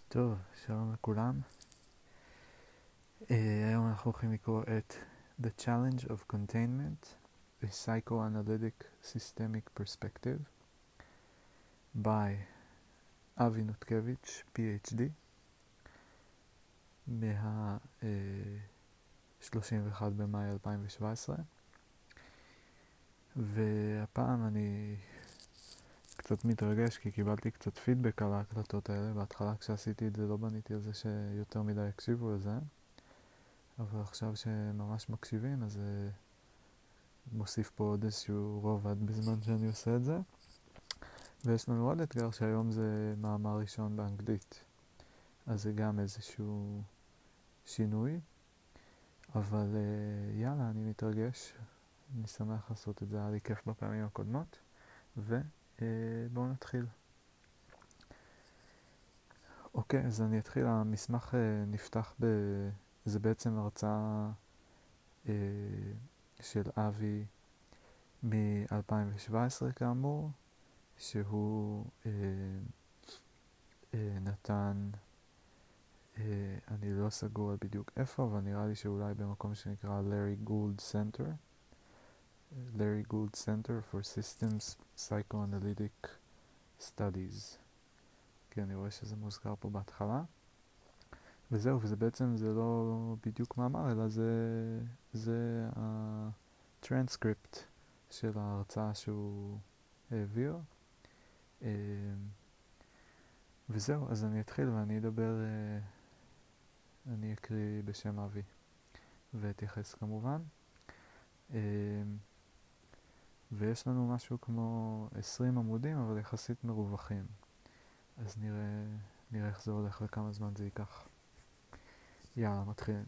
טוב, שלום לכולם. היום אנחנו הולכים לקרוא את The Challenge of Containment, a Psychoanalytic Systemic Perspective by אבי נותקביץ', PhD, מה-31 במאי 2017. והפעם אני קצת מתרגש כי קיבלתי קצת פידבק על ההקלטות האלה. בהתחלה כשעשיתי את זה לא בניתי על זה שיותר מדי יקשיבו לזה, אבל עכשיו שממש מקשיבים אז מוסיף פה עוד איזשהו רובד בזמן שאני עושה את זה. ויש לנו עוד אתגר שהיום זה מאמר ראשון באנגלית, אז זה גם איזשהו שינוי, אבל יאללה, אני מתרגש, אני שמח לעשות את זה, היה לי כיף בפעמים הקודמות, ובואו נתחיל. אוקיי, אז אני אתחיל. המסמך נפתח זה בעצם הרצאה של אבי מ-2017 כאמור, שהוא נתן, אני לא סגור על בדיוק איפה, אבל נראה לי שאולי במקום שנקרא Larry Gould Center, Larry Gould Center for Systems Psychoanalytic Studies. כן, אני רואה שזה מוזכר פה בהתחלה. וזהו, וזה בעצם, זה לא בדיוק מאמר, אלא זה הטרנסקריפט של ההרצאה שהוא העביר. וזהו, אז אני אתחיל ואני אדבר, אני אקריא בשם אבי ואתייחס כמובן. ויש לנו משהו כמו 20 עמודים, אבל יחסית מרווחים. אז נראה איך זה הולך וכמה זמן זה ייקח. יאללה, מתחילים.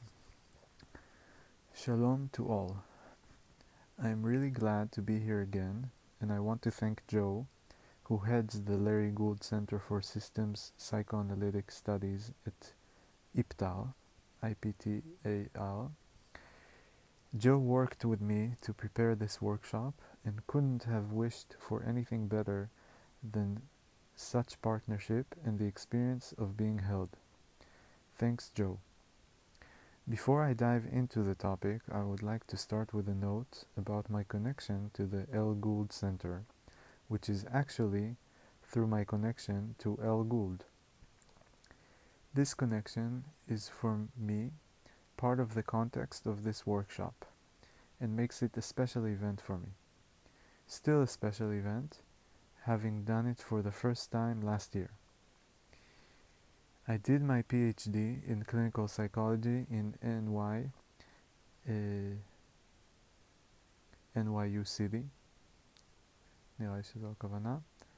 Shalom to all. I am really glad to be here again, and I want to thank Joe, who heads the Larry Gould Center for Systems Psychoanalytic Studies at IPTAR, IPTAR. Joe worked with me to prepare this workshop and couldn't have wished for anything better than such partnership and the experience of being held. Thanks, Joe. Before I dive into the topic, I would like to start with a note about my connection to the L. Gould Center, which is actually through my connection to L. Gould. This connection is for me part of the context of this workshop and makes it a special event for me. Still a special event, having done it for the first time last year. I did my PhD in clinical psychology in NYU City, נראה לי שזו הכוונה,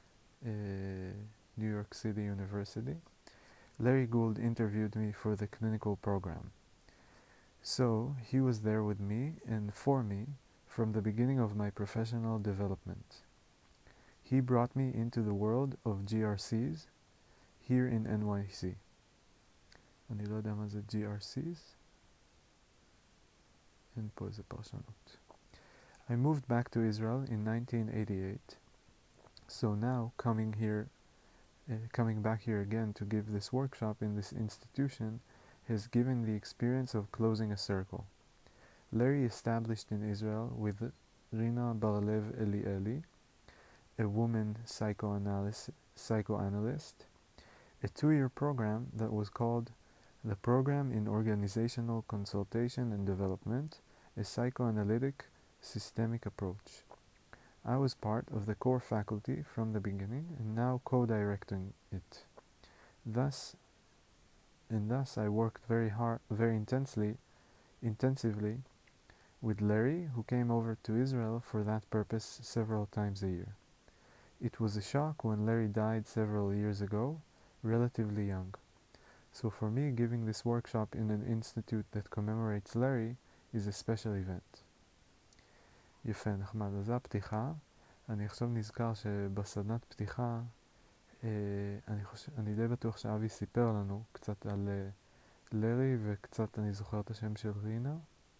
New York City University. Larry Gould interviewed me for the clinical program. So he was there with me and for me from the beginning of my professional development. He brought me into the world of GRCs here in NYC. אני לא יודע מה זה GRCs. אין פה איזה פרשנות. I moved back to Israel in 1988. So now coming back here again to give this workshop in this institution has given the experience of closing a circle. Larry established in Israel with Rina Bar-Lev Elieli, a woman psychoanalyst, a 2-year program that was called the Program in Organizational Consultation and Development, a Psychoanalytic Systemic Approach. I was part of the core faculty from the beginning and now co-directing it. Thus I worked very intensively with Larry, who came over to Israel for that purpose several times a year. It was a shock when Larry died several years ago, relatively young. So for me, giving this workshop in an institute that commemorates Larry is a special event. יפה, נחמד. אז זה הפתיחה. אני עכשיו נזכר שבסדנת פתיחה, אני די בטוח שאבי סיפר לנו קצת על לרי, וקצת אני זוכר את השם של רינה,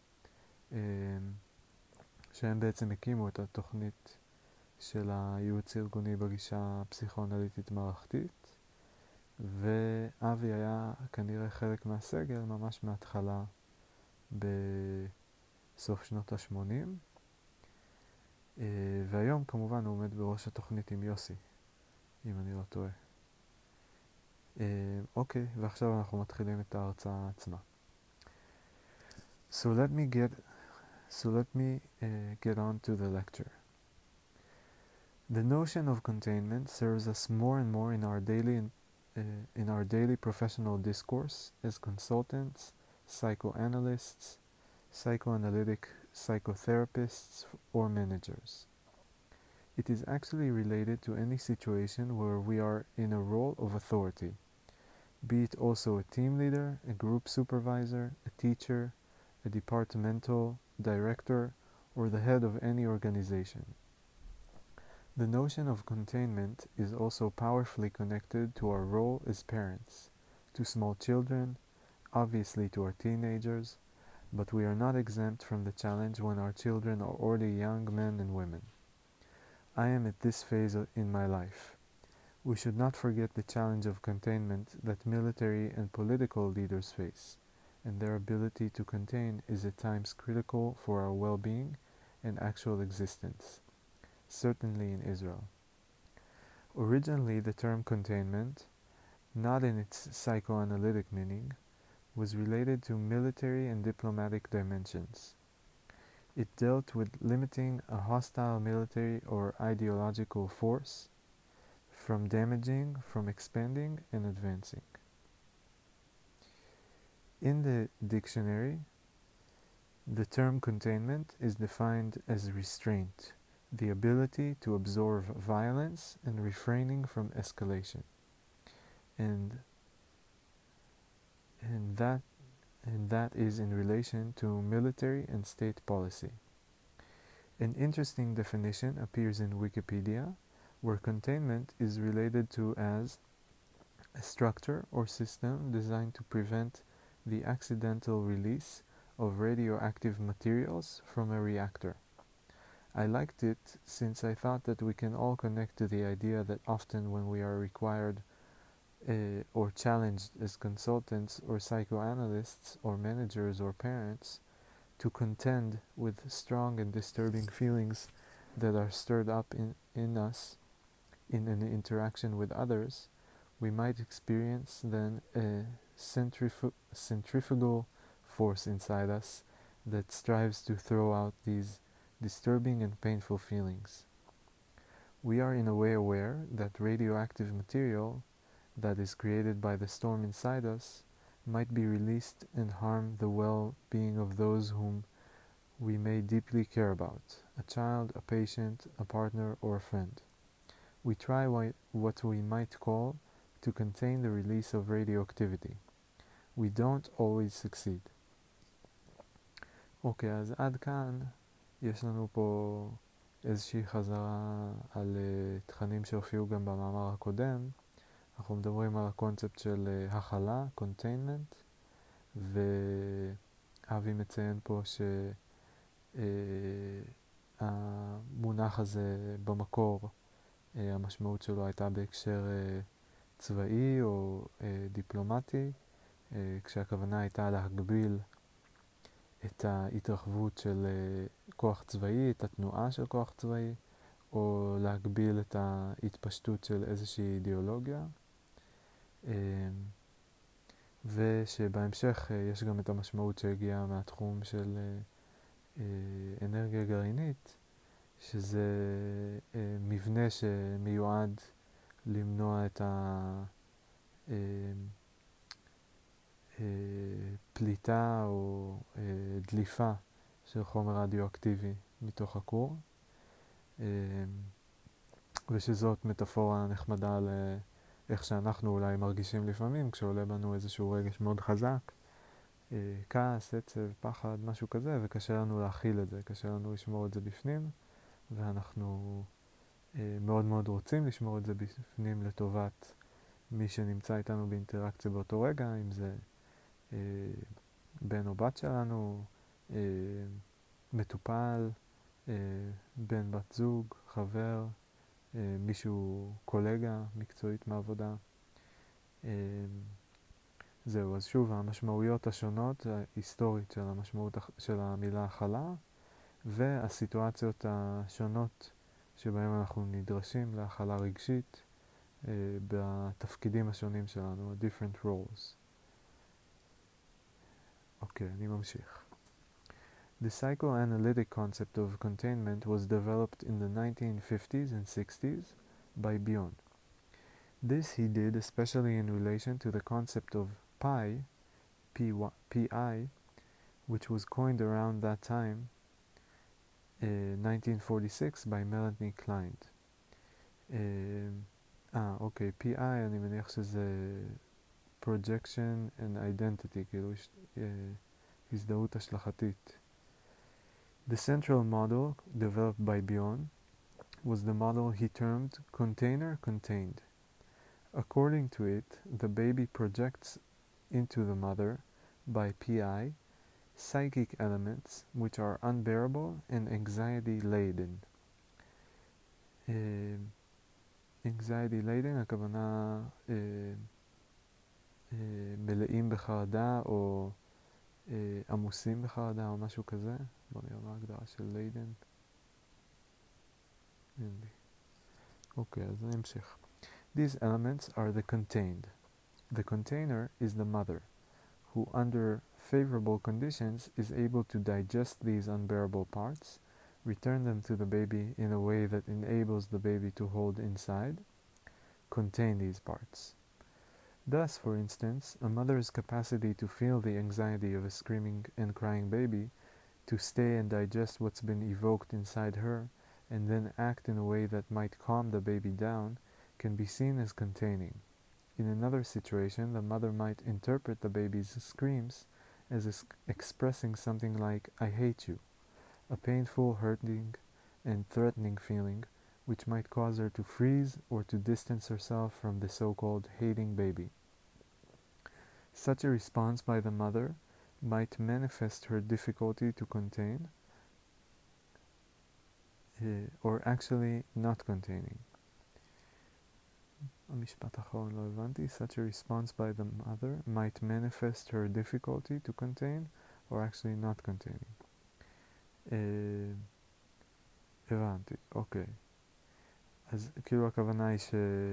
שהם בעצם הקימו את התוכנית של הייעוץ הארגוני בגישה הפסיכואנליטית מערכתית, ואבי היה כנראה חלק מהסגל ממש מההתחלה בסוף שנות ה-80, והיום כמובן הוא עומד בראש התוכנית עם יוסי, אם אני לא טועה. אוקיי, ועכשיו אנחנו מתחילים את ההרצאה עצמה. So let me get on to the lecture. The notion of containment serves us more and more in our daily professional discourse as consultants, psychoanalysts, psychoanalytic psychotherapists, or managers. It is actually related to any situation where we are in a role of authority, be it also a team leader, a group supervisor, a teacher, a departmental director, or the head of any organization. The notion of containment is also powerfully connected to our role as parents, to small children, obviously to our teenagers, but we are not exempt from the challenge when our children are already young men and women. I am at this phase in my life. We should not forget the challenge of containment that military and political leaders face, and their ability to contain is at times critical for our well-being and actual existence, certainly in Israel. Originally, the term containment, not in its psychoanalytic meaning, was related to military and diplomatic dimensions. It dealt with limiting a hostile military or ideological force from damaging, from expanding, and advancing. In the dictionary, the term containment is defined as restraint, the ability to absorb violence and refraining from escalation. And that is in relation to military and state policy. An interesting definition appears in Wikipedia, where containment is related to as a structure or system designed to prevent the accidental release of radioactive materials from a reactor. I liked it since I thought that we can all connect to the idea that often when we are required or challenged as consultants or psychoanalysts or managers or parents to contend with strong and disturbing feelings that are stirred up in us in an interaction with others, we might experience then a centrifugal force inside us that strives to throw out these disturbing and painful feelings. We are in a way aware that radioactive material that is created by the storm inside us might be released and harm the well-being of those whom we may deeply care about, a child, a patient, a partner, or a friend. We try what we might call to contain the release of radioactivity. We don't always succeed. אוקיי, אז עד כאן יש לנו פה איזושהי חזרה על תכנים שהופיעו גם במאמר הקודם. אנחנו מדברים על הקונספט של הכלה, containment, ואבי מציין פה שהמונח הזה במקור, המשמעות שלו הייתה בהקשר צבאי או דיפלומטי, כשהכוונה הייתה להגביל את ההתרחבות של כוח צבאי, את התנועה של כוח צבאי, או להגביל את ההתפשטות של איזושהי אידיאולוגיה. ושבהמשך יש גם את המשמעות שהגיעה מהתחום של אנרגיה גרעינית, שזה מבנה שמיועד למנוע את הפליטה או דליפה של חומר רדיואקטיבי מתוך הכור, ושזאת מטאפורה נחמדה לאיך שאנחנו אולי מרגישים לפעמים כשעולה בנו איזשהו רגש מאוד חזק, כעס, עצב, פחד, משהו כזה, וקשה לנו להכיל את זה, קשה לנו לשמור את זה בפנים, ואנחנו מאוד מאוד רוצים לשמור את זה בפנים לטובת מי שנמצא איתנו באינטראקציה באותו רגע, אם זה בן או בת שלנו, מטופל, בן בת זוג, חבר, מישהו, קולגה מקצועית מעבודה. זהו, אז שוב, המשמעויות השונות, ההיסטורית של המשמעות של המילה הכלה, והסיטואציות השונות שבהם אנחנו נדרשים להכלה רגשית בתפקידים השונים שלנו, different roles. אוקיי, אני ממשיך. The psychoanalytic concept of containment was developed in the 1950s and 60s by Bion. This he did especially in relation to the concept of PI, which was coined around that time, 1946, by Melanie Klein. אוקיי, PI אני מניח שזה projection and identity, כאילו הזדהות השלכתית. The central model developed by Bion was the model he termed container contained. According to it, the baby projects into the mother by PI psychic elements which are unbearable and anxiety laden. anxiety laden, הכוונה מלאים בחרדה או עמוסים בחרדה או משהו כזה. בוא נראה מה ההגדרה של laden. אין לי. אוקיי, אז נמשיך. These elements are the contained. The container is the mother, who under favorable conditions is able to digest these unbearable parts, return them to the baby in a way that enables the baby to hold inside, contain these parts. Thus, for instance, a mother's capacity to feel the anxiety of a screaming and crying baby, to stay and digest what's been evoked inside her, and then act in a way that might calm the baby down, can be seen as containing. In another situation, the mother might interpret the baby's screams as expressing something like, I hate you, a painful, hurting, and threatening feeling, which might cause her to freeze or to distance herself from the so-called hating baby. Such a response by the mother might manifest her difficulty to contain, or actually not containing. המשפט האחרון לא הבנתי. Such a response by the mother might manifest her difficulty to contain, or actually not containing. הבנתי, אוקיי. אז כאילו הכוונה היא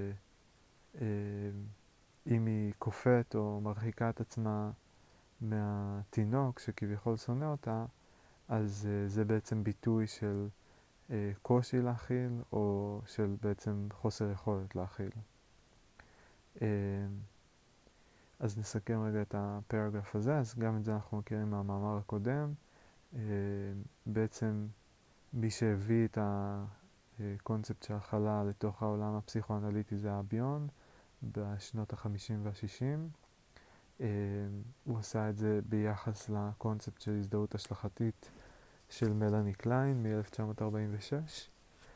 שאם היא כופת או מרחיקה את עצמה מהתינוק שכביכול שונא אותה, אז זה בעצם ביטוי של קושי להכיל, או של בעצם חוסר יכולת להכיל. אז נסכם רגע את הפרגרף הזה. אז גם את זה אנחנו מכירים מהמאמר הקודם. בעצם מי שהביא את הקונספט של הכלה לתוך העולם הפסיכואנליטי זה ביון בשנות ה-50 וה-60. הוא עשה את זה ביחס לקונספט של הזדהות השלכתית של מלאני קליין מ-1946.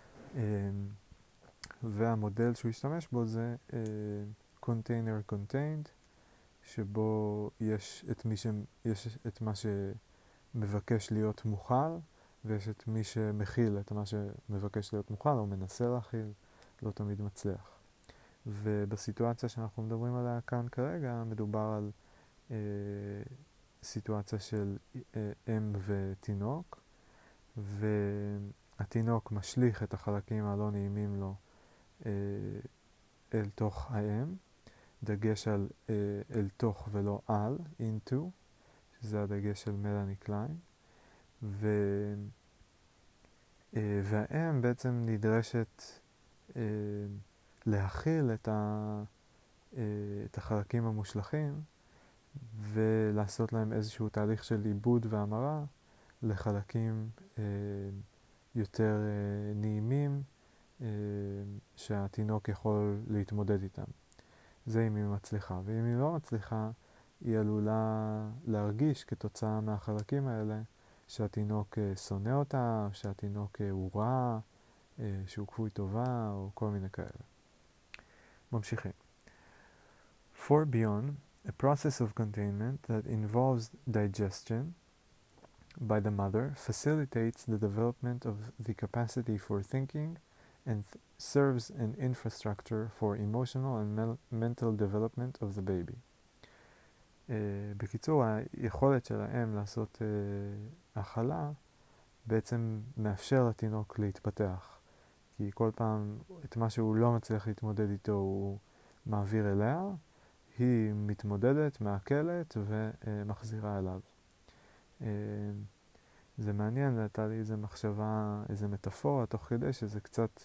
והמודל שהוא השתמש בו זה container contained, שבו יש את מה שמבקש להיות מוכל, ויש את מי שמכיל את מה שמבקש להיות מוכל או מנסה להכיל, לא תמיד מצליח. ובסיטואציה שאנחנו מדברים עליה כאן כרגע מדובר על סיטואציה של אם ותינוק, והתינוק משליך את החלקים הלא נעימים לו אל תוך האם, דגש על אל תוך ולא על, into, שזה הדגש של מלאני קליין, והאם בעצם נדרשת להכיל את החלקים המושלכים ולעשות להם איזשהו תהליך של עיבוד והמרה לחלקים יותר נעימים שהתינוק יכול להתמודד איתם. זה אם היא מצליחה. ואם היא לא מצליחה, היא עלולה להרגיש כתוצאה מהחלקים האלה שהתינוק שונא אותה, שהתינוק הוא רע, שהוא כפוי טובה, או כל מיני כאלה. ממשיכים. For Bion, a process of containment that involves digestion by the mother facilitates the development of the capacity for thinking and serves an infrastructure for emotional and mental development of the baby. בקיצור, היכולת של האם לעשות הכלה בעצם מאפשר לתינוק להתפתח, כי כל פעם את מה שהוא לא מצליח להתמודד איתו הוא מעביר אליה, היא מתמודדת, מעכלת ומחזירה אליו. זה מעניין, הייתה לי איזו מחשבה, איזו מטאפורה תוך כדי שזה קצת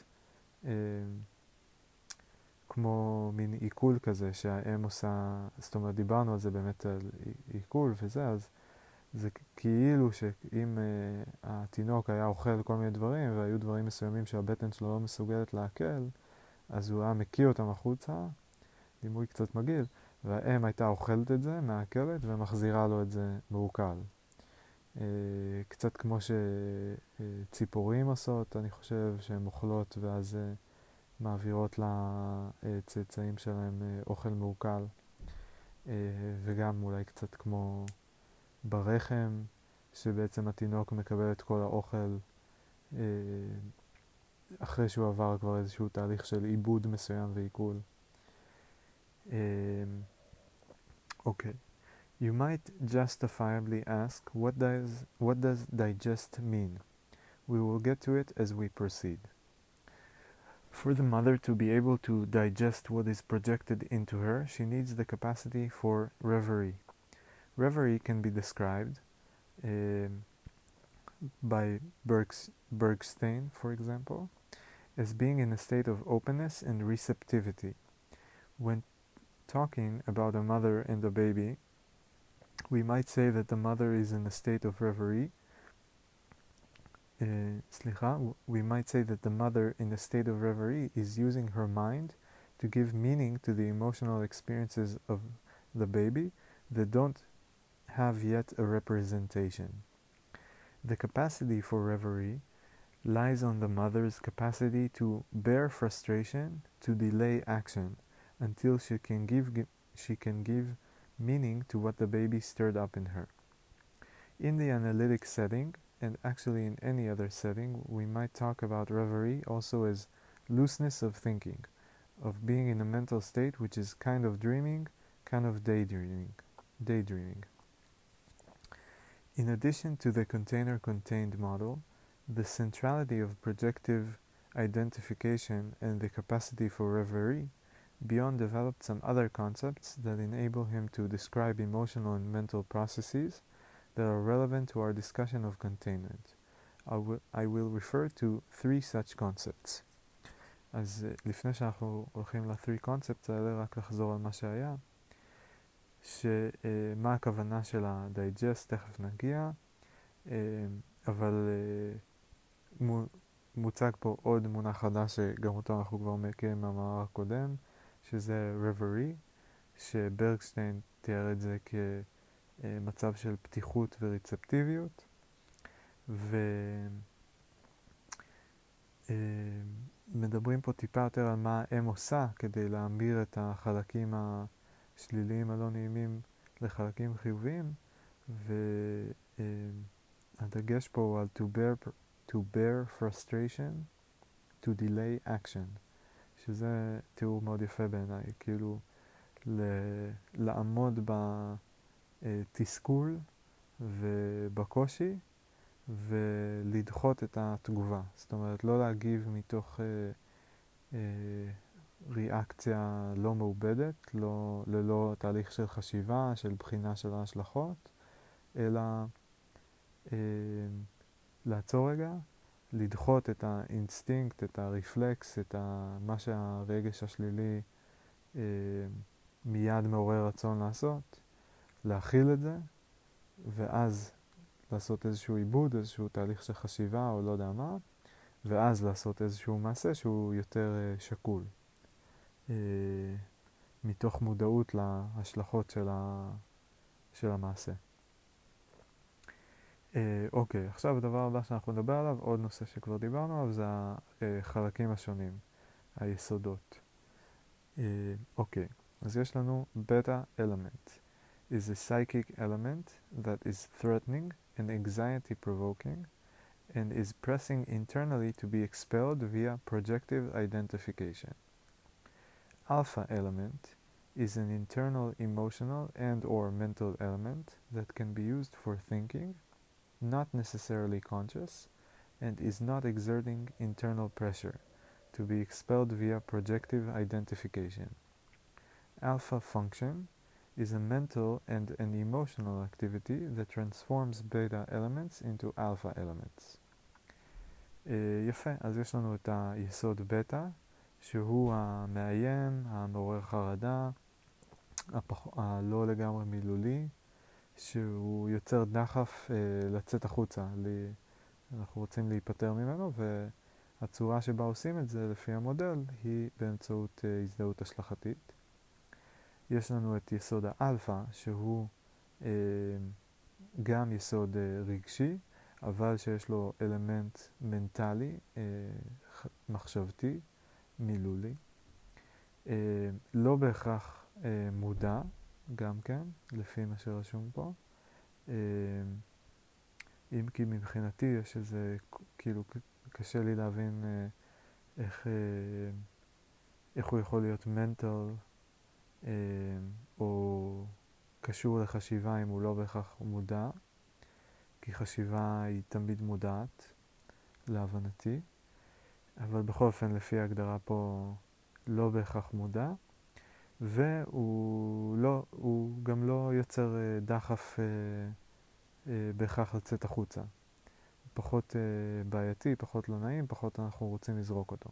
כמו מין עיכול כזה שהאם עושה, זאת אומרת דיברנו על זה באמת על עיכול וזה, אז זה כאילו שאם התינוק היה אוכל כל מיני דברים והיו דברים מסוימים שהבטן שלו לא מסוגלת לעכל, אז הוא היה מקיא אותם החוצה, דימוי קצת מגעיל, והאם הייתה אוכלת את זה, מעכלת, ומחזירה לו את זה מעוקל. קצת כמו שציפורים עושות, אני חושב, שהן אוכלות ואז מעבירות לצאצאים שלהם אוכל מעוקל, וגם אולי קצת כמו ברחם, שבעצם התינוק מקבל את כל האוכל אחרי שהוא עבר כבר איזשהו תהליך של עיבוד מסוים ועיכול. Okay. You might justifiably ask, what does digest mean? We will get to it as we proceed. For the mother to be able to digest what is projected into her, she needs the capacity for reverie. Reverie can be described by Bergstein, for example, as being in a state of openness and receptivity. When talking about a mother and a baby, we might say that the mother is in a state of reverie. We might say that the mother in a state of reverie is using her mind to give meaning to the emotional experiences of the baby that don't have yet a representation. The capacity for reverie lies on the mother's capacity to bear frustration, to delay action, until she can give meaning to what the baby stirred up in her. In the analytic setting, and actually in any other setting, we might talk about reverie also as looseness of thinking, of being in a mental state which is kind of dreaming, kind of daydreaming. In addition to the container-contained model, the centrality of projective identification and the capacity for reverie, Bion developed some other concepts that enable him to describe emotional and mental processes that are relevant to our discussion of containment. I will refer to 3 such concepts. אז לפני שאנחנו הולכים ל-3 concepts האלה, רק לחזור על מה שהיה, שמה הכוונה של ה-digest, תכף נגיע, אבל מוצג פה עוד מונח חדש שגם אותו אנחנו כבר מכירים מהמאמר הקודם, שזה reverie, שברגשטיין תיאר את זה כמצב של פתיחות ורצפטיביות, ומדברים פה טיפה יותר על מה האם עושה כדי להמיר את החלקים השליליים הלא נעימים לחלקים חיוביים, והדגש פה הוא על to bear frustration, to delay action, שזה תיאור מאוד יפה בעיניי, כאילו לעמוד בתסכול ובקושי ולדחות את התגובה. זאת אומרת, לא להגיב מתוך ריאקציה לא מעובדת, ללא תהליך של חשיבה, של בחינה של ההשלכות, אלא לעצור רגע, לדחות את האינסטינקט, את הרפלקס, את מה שהרגש השלילי מיד מעורר רצון לעשות, להכיל את זה, ואז לעשות איזשהו עיבוד, איזשהו תהליך של חשיבה או לא יודע מה, ואז לעשות איזשהו מעשה שהוא יותר שקול, מתוך מודעות להשלכות של המעשה. אוקיי, עכשיו הדבר הבא שאנחנו נדבר עליו, עוד נושא שכבר דיברנו עליו, זה החלקים השונים, היסודות. אוקיי, אז יש לנו beta element is a psychic element that is threatening and anxiety provoking and is pressing internally to be expelled via projective identification. Alpha element is an internal emotional and or mental element that can be used for thinking, not necessarily conscious, and is not exerting internal pressure to be expelled via projective identification. Alpha function is a mental and an emotional activity that transforms beta elements into alpha elements. יפה, אז יש לנו את היסוד בטא, שהוא המאיים, המעורר חרדה, הלא לגמרי מילולי, שהוא יוצר דחף לצאת החוצה. אנחנו רוצים להיפטר ממנו, והצורה שבה עושים את זה לפי המודל היא באמצעות הזדהות השלכתית. יש לנו את יסוד האלפא, שהוא גם יסוד רגשי, אבל שיש לו אלמנט מנטלי, מחשבתי, מילולי. לא בהכרח מודע, גם כן, לפי מה שרשום פה. אם כי מבחינתי יש איזה, כאילו, קשה לי להבין איך הוא יכול להיות mental, או קשור לחשיבה אם הוא לא בהכרח מודע, כי חשיבה היא תמיד מודעת, להבנתי, אבל בכל אופן לפי ההגדרה פה לא בהכרח מודע, והוא גם לא יוצר דחף בהכרח לצאת החוצה. פחות בעייתי, פחות לא נעים, פחות אנחנו רוצים לזרוק אותו.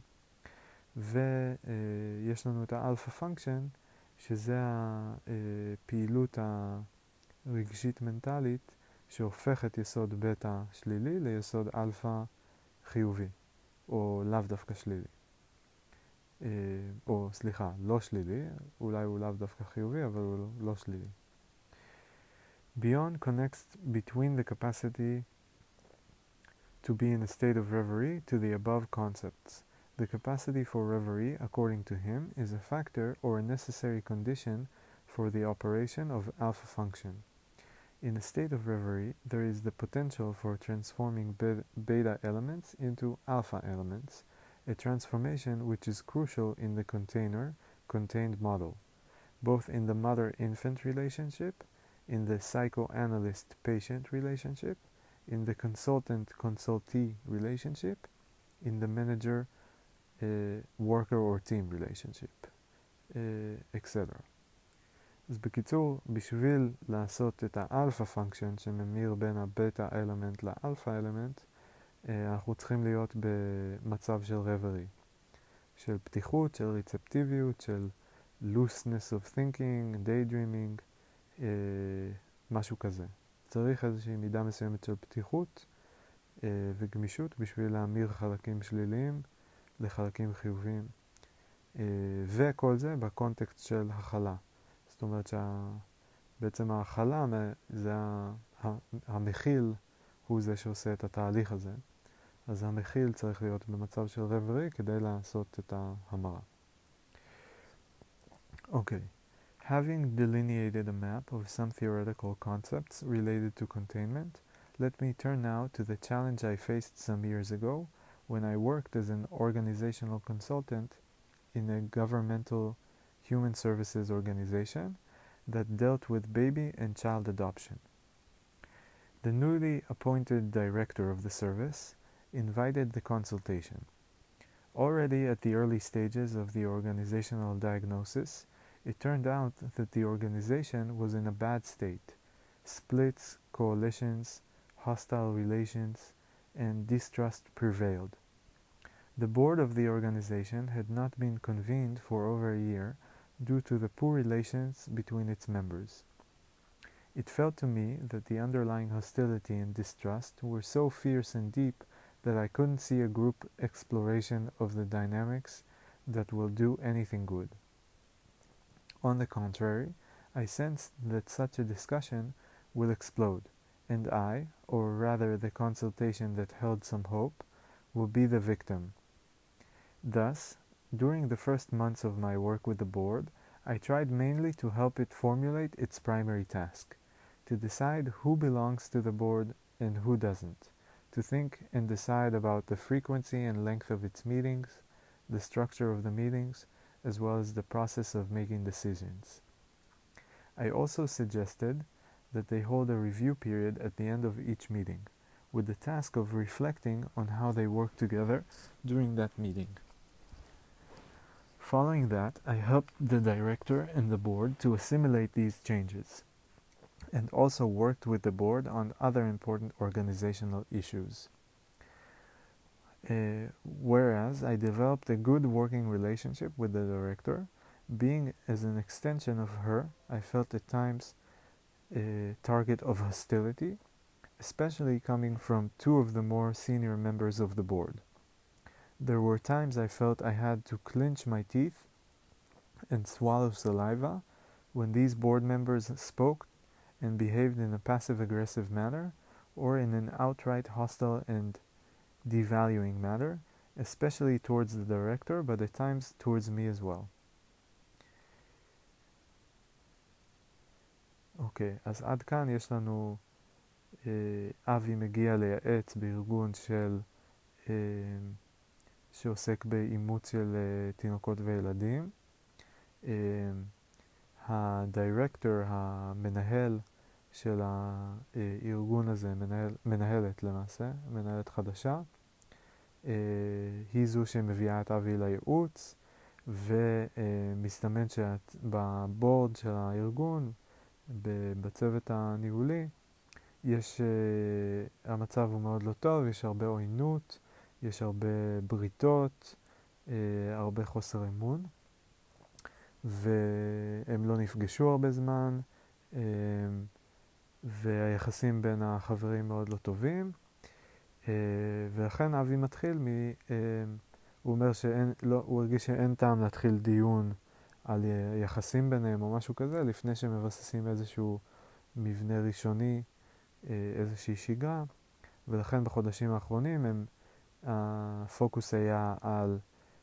ויש לנו את האלפא פונקשן, שזה הפעילות הרגשית מנטלית שהופך את יסוד בטא שלילי ליסוד אלפא חיובי, או לאו דווקא שלילי. או סליחה, לא שלילי, אולי הוא לאו דווקא חיובי, אבל הוא לא שלילי. Bion connects between the capacity to be in a state of reverie to the above concepts. The capacity for reverie, according to him, is a factor or a necessary condition for the operation of alpha function. In a state of reverie, there is the potential for transforming beta elements into alpha elements, a transformation which is crucial in the contained model, both in the mother-infant relationship, in the psychoanalyst-patient relationship, in the consultant-consultee relationship, in the manager-worker or team relationship, etc. אז בקיצור, בשביל לעשות את האלפא פונקשן שממיר בין הבטא אלמנט לאלפא אלמנט, אנחנו צריכים להיות במצב של רברי, של פתיחות, של ריצפטיביות, של looseness of thinking, daydreaming, משהו כזה. צריך איזושהי מידה מסוימת של פתיחות וגמישות בשביל להמיר חלקים שליליים לחלקים חיוביים. וכל זה בקונטקסט של הכלה. זאת אומרת שבעצם ההכלה, זה המכיל הוא זה שעושה את התהליך הזה. אז המכיל צריך להיות במצב של רברי כדי לעשות את ההמרה. אוקיי. Having delineated a map of some theoretical concepts related to containment, let me turn now to the challenge I faced some years ago when I worked as an organizational consultant in a governmental human services organization that dealt with baby and child adoption. The newly appointed director of the service invited the consultation. Already at the early stages of the organizational diagnosis, it turned out that the organization was in a bad state. Splits, coalitions, hostile relations, and distrust prevailed. The board of the organization had not been convened for over a year due to the poor relations between its members. It felt to me that the underlying hostility and distrust were so fierce and deep that I couldn't see a group exploration of the dynamics that will do anything good. On the contrary, I sensed that such a discussion will explode, and I, or rather the consultation that held some hope, will be the victim. Thus, during the first months of my work with the board, I tried mainly to help it formulate its primary task, to decide who belongs to the board and who doesn't, to think and decide about the frequency and length of its meetings, the structure of the meetings, as well as the process of making decisions. I also suggested that they hold a review period at the end of each meeting, with the task of reflecting on how they worked together during that meeting. Following that, I helped the director and the board to assimilate these changes, and also worked with the board on other important organizational issues. Whereas I developed a good working relationship with the director, being as an extension of her, I felt at times a target of hostility, especially coming from two of the more senior members of the board. There were times I felt I had to clench my teeth and swallow saliva when these board members spoke and behaved in a passive-aggressive manner or in an outright hostile and devaluing manner, especially towards the director, but at times towards me as well. אוקיי, אז עד כאן יש לנו אבי מגיע לייעץ בארגון שעוסק באימוץ של תינוקות וילדים. הדירקטור, המנהל של הארגון הזה, מנהלת למעשה, מנהלת חדשה, היא זו שמביאה את אבי לייעוץ, ומסתמן שבבורד של הארגון, בצוות הניהולי, המצב הוא מאוד לא טוב, יש הרבה עוינות, יש הרבה בריתות, הרבה חוסר אמון, והם לא נפגשו הרבה זמן, והיחסים בין החברים מאוד לא טובים, ולכן אבי מתחיל הוא אומר הוא הרגיש שאין טעם להתחיל דיון על יחסים ביניהם או משהו כזה, לפני שמבססים איזשהו מבנה ראשוני, איזושהי שגרה, ולכן בחודשים האחרונים הפוקוס היה על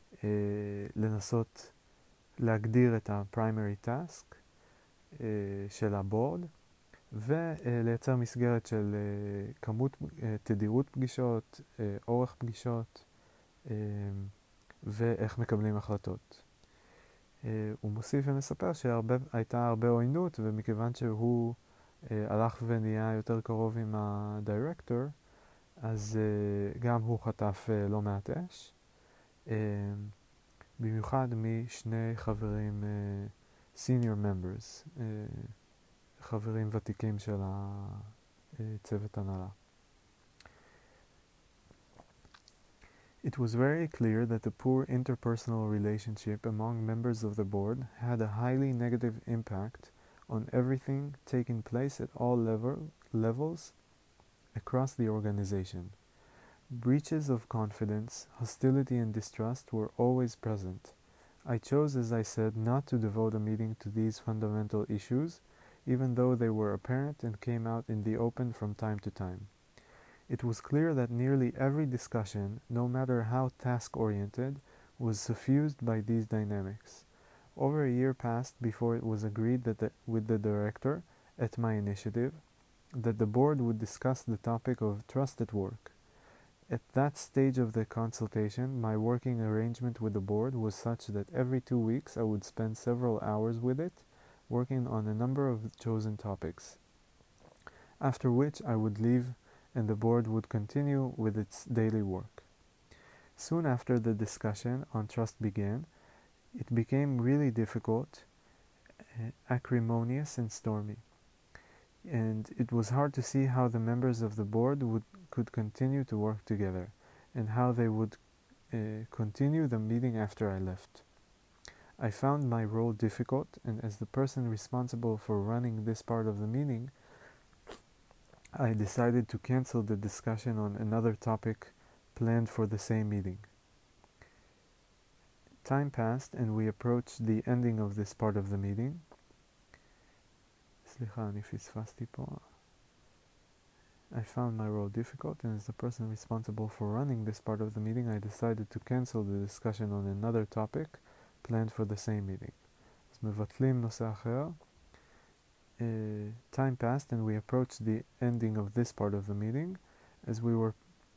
לנסות להגדיר את ה-primary task של הבורד, ולייצר מסגרת של תדירות פגישות, אורך פגישות, ואיך מקבלים החלטות. הוא מוסיף ומספר שהייתה הרבה עוינות, ומכיוון שהוא הלך ונהיה יותר קרוב עם הדירקטור, אז גם הוא חטף לא מעט אש, במיוחד משני חברים, senior members, חברים ותיקים של הצוות הנהלה. It was very clear that the poor interpersonal relationship among members of the board had a highly negative impact on everything taking place at all levels across the organization. Breaches of confidence, hostility, and distrust were always present. I chose, as I said, not to devote a meeting to these fundamental issues, even though they were apparent and came out in the open from time to time. It was clear that nearly every discussion, no matter how task-oriented, was suffused by these dynamics. Over a year passed before it was agreed with the director, at my initiative, that the board would discuss the topic of trust at work. At that stage of the consultation, my working arrangement with the board was such that every 2 weeks I would spend several hours with it, working on a number of chosen topics. After which I would leave and the board would continue with its daily work. Soon after the discussion on trust began, it became really difficult, acrimonious and stormy. And it was hard to see how the members of the board could continue to work together, and how they would continue the meeting after I left. I found my role difficult, and as the person responsible for running this part of the meeting, I decided to cancel the discussion on another topic planned for the same meeting. Time passed and we approached the ending of this part of the meeting. סליחה, אני פספסתי פה. I found my role difficult, and as the person responsible for running this part of the meeting, I decided to cancel the discussion on another topic planned for the same meeting. אז מבטלים נושא אחר. Time passed and we approached the ending of this part of the meeting. As we were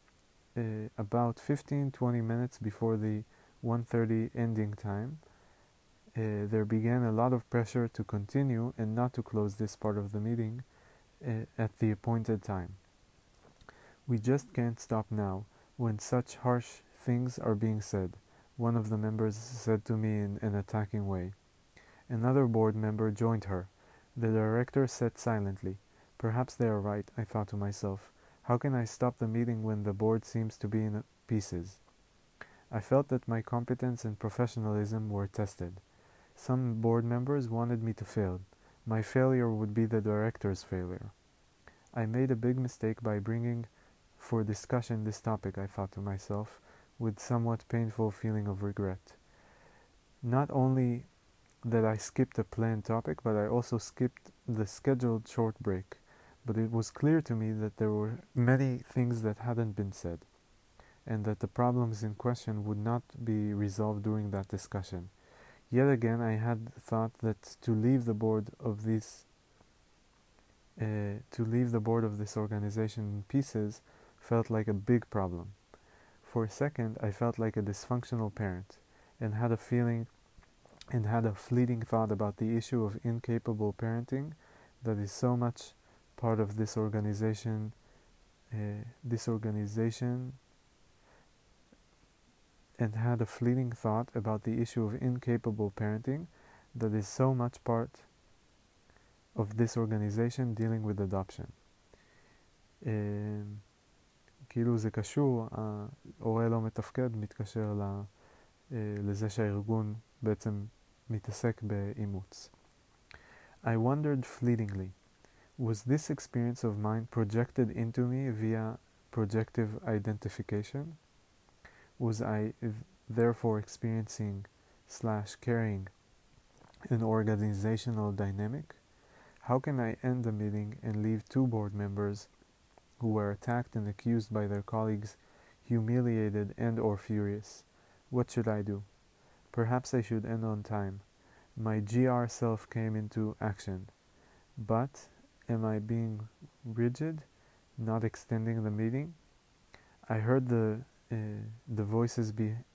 about 15-20 minutes before the 1:30 ending time, there began a lot of pressure to continue and not to close this part of the meeting at the appointed time. "We just can't stop now, when such harsh things are being said," one of the members said to me in an attacking way. Another board member joined her. The director sat silently. Perhaps they are right, I thought to myself. How can I stop the meeting when the board seems to be in pieces? I felt that my competence and professionalism were tested. Some board members wanted me to fail. My failure would be the director's failure. I made a big mistake by bringing for discussion this topic, I thought to myself, with somewhat painful feeling of regret. Not only that I skipped a planned topic, but I also skipped the scheduled short break. But it was clear to me that there were many things that hadn't been said, and that the problems in question would not be resolved during that discussion. Yet again, I had thought that to leave the board of this organization in pieces felt like a big problem. For a second, I felt like a dysfunctional parent, and had a fleeting thought about the issue of incapable parenting that is so much part of this organization. And had a fleeting thought about the issue of incapable parenting that is so much part of this organization dealing with adoption. כאילו זה קשור, ההורה לא מתפקד מתקשר לזה שהארגון בעצם מתעסק באימוץ. I wondered fleetingly, was this experience of mine projected into me via projective identification? Was I therefore experiencing/carrying an organizational dynamic? How can I end the meeting and leave two board members who were attacked and accused by their colleagues humiliated and or furious? What should I do? Perhaps I should end on time. My GR self came into action. But am I being rigid, not extending the meeting? I heard the voices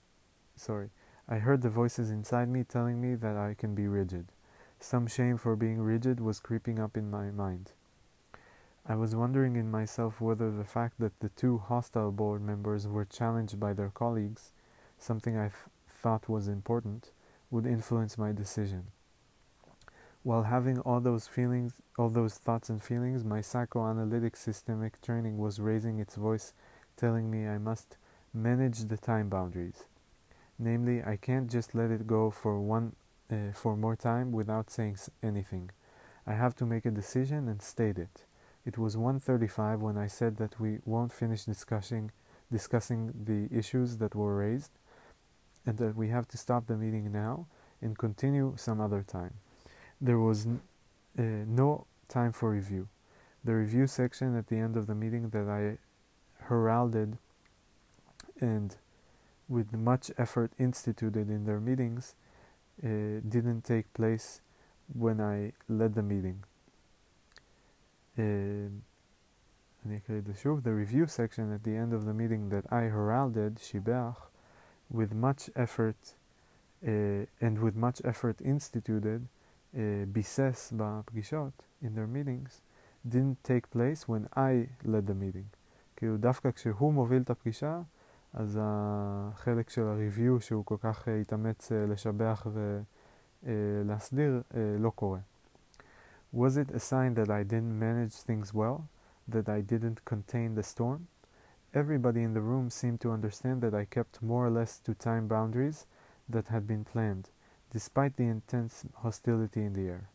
inside me telling me that I can be rigid. Some shame for being rigid was creeping up in my mind. I was wondering in myself whether the fact that the two hostile board members were challenged by their colleagues, something I thought was important, would influence my decision. While having all those thoughts and feelings, my psychoanalytic systemic training was raising its voice, telling me I must manage the time boundaries. Namely, I can't just let it go for more time without saying anything. I have to make a decision and state it. It was 1:35 when I said that we won't finish discussing the issues that were raised, and that we have to stop the meeting now and continue some other time. There was no time for review. The review section at the end of the meeting that I heralded and with much effort instituted in their meetings didn't take place when I led the meeting. אני אקריא את זה שוב. The review section at the end of the meeting that I heralded, שיבח, with much effort instituted, ביסס בפגישות, in their meetings, didn't take place when I led the meeting. כאילו דווקא כשהוא מוביל את הפגישה, אז החלק של הריוויו שהוא כל כך התאמץ לשבח ולהסדיר לא קורה. Was it a sign that I didn't manage things well? That I didn't contain the storm? Everybody in the room seemed to understand that I kept more or less to time boundaries that had been planned, despite the intense hostility in the air.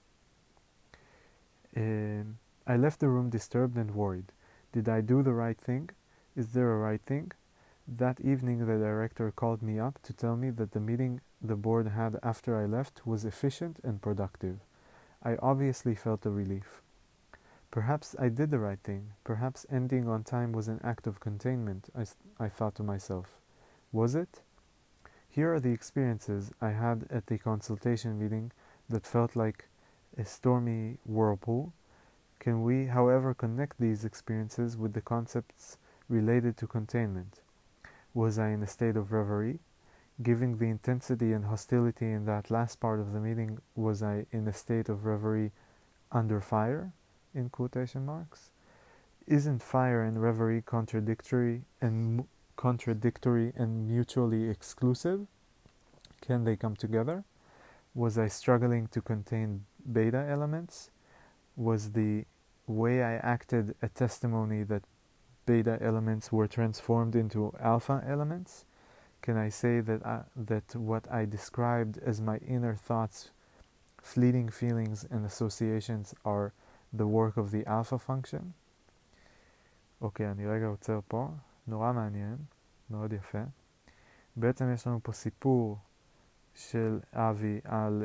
I left the room disturbed and worried. Did I do the right thing? Is there a right thing? That evening the director called me up to tell me that the meeting the board had after I left was efficient and productive. I obviously felt a relief. Perhaps I did the right thing. Perhaps ending on time was an act of containment, I thought to myself. Was it? Here are the experiences I had at the consultation meeting that felt like a stormy whirlpool. Can we, however, connect these experiences with the concepts related to containment? Was I in a state of reverie? Given the intensity and hostility in that last part of the meeting, was I in a state of reverie under fire? In quotation marks. Isn't fire and reverie contradictory and mutually exclusive? Can they come together? Was I struggling to contain beta elements? Was the way I acted a testimony that beta elements were transformed into alpha elements? Can I say that what I described as my inner thoughts, fleeting feelings and associations are the work of the alpha function? אוקיי, אני רגע עוצר פה, נורא מעניין, מאוד יפה. בעצם יש לנו פה סיפור של אבי על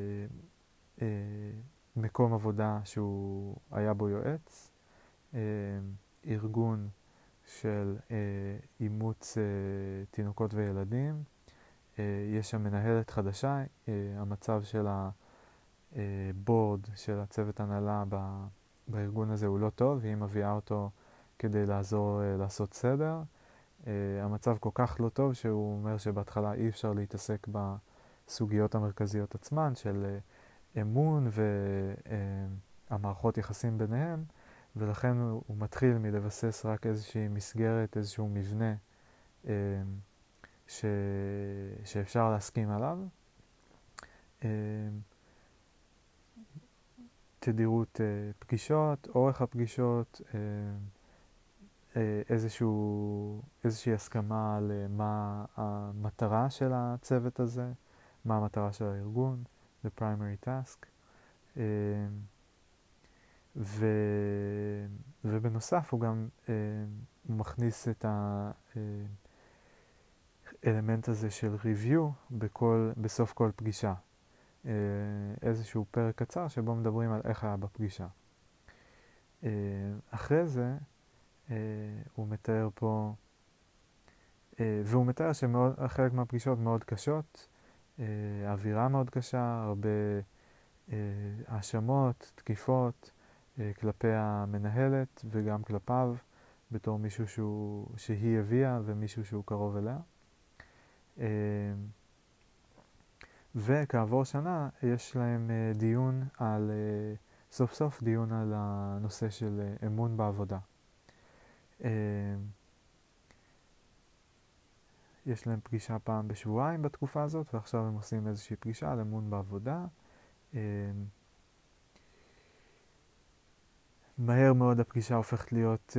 מקום עבודה שהוא היה בו יועץ, ארגון של אימוץ תינוקות וילדים, יש שם מנהלת חדשה, המצב של הבורד, של הצוות הנהלה בארגון הזה הוא לא טוב, והיא מביאה אותו כדי לעזור לעשות סדר. המצב כל כך לא טוב שהוא אומר שבהתחלה אי אפשר להתעסק בסוגיות המרכזיות עצמן של אמון והמערכות יחסים ביניהם, ולכן הוא מתחיל מלבסס רק איזושהי מסגרת, איזשהו מבנה שאפשר להסכים עליו. תדירות פגישות, אורך הפגישות, איזושהי הסכמה על מה המטרה של הצוות הזה, מה המטרה של הארגון, the primary task. ובנוסף הוא גם מכניס את האלמנט הזה של review בסוף כל פגישה. איזשהו פרק קצר שבו מדברים על איך היה בפגישה. אחרי זה הוא מתאר פה, והוא מתאר שחלק מהפגישות מאוד קשות, האווירה מאוד קשה, הרבה האשמות, תקיפות כלפי המנהלת וגם כלפיו בתור מישהו שהיא הביאה ומישהו שהוא קרוב אליה. וכעבור שנה יש להם דיון על, סוף סוף דיון על הנושא של אמון בעבודה. יש להם פגישה פעם בשבועיים בתקופה הזאת, ועכשיו הם עושים איזושהי פגישה על אמון בעבודה. מהר מאוד הפגישה הופכת להיות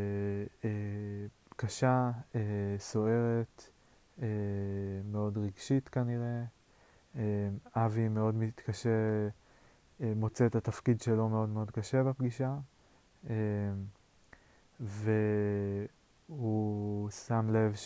קשה, סוערת, מאוד רגשית כנראה. אבי מאוד מתקשה, מוצא את התפקיד שלו מאוד מאוד קשה בפגישה, והוא שם לב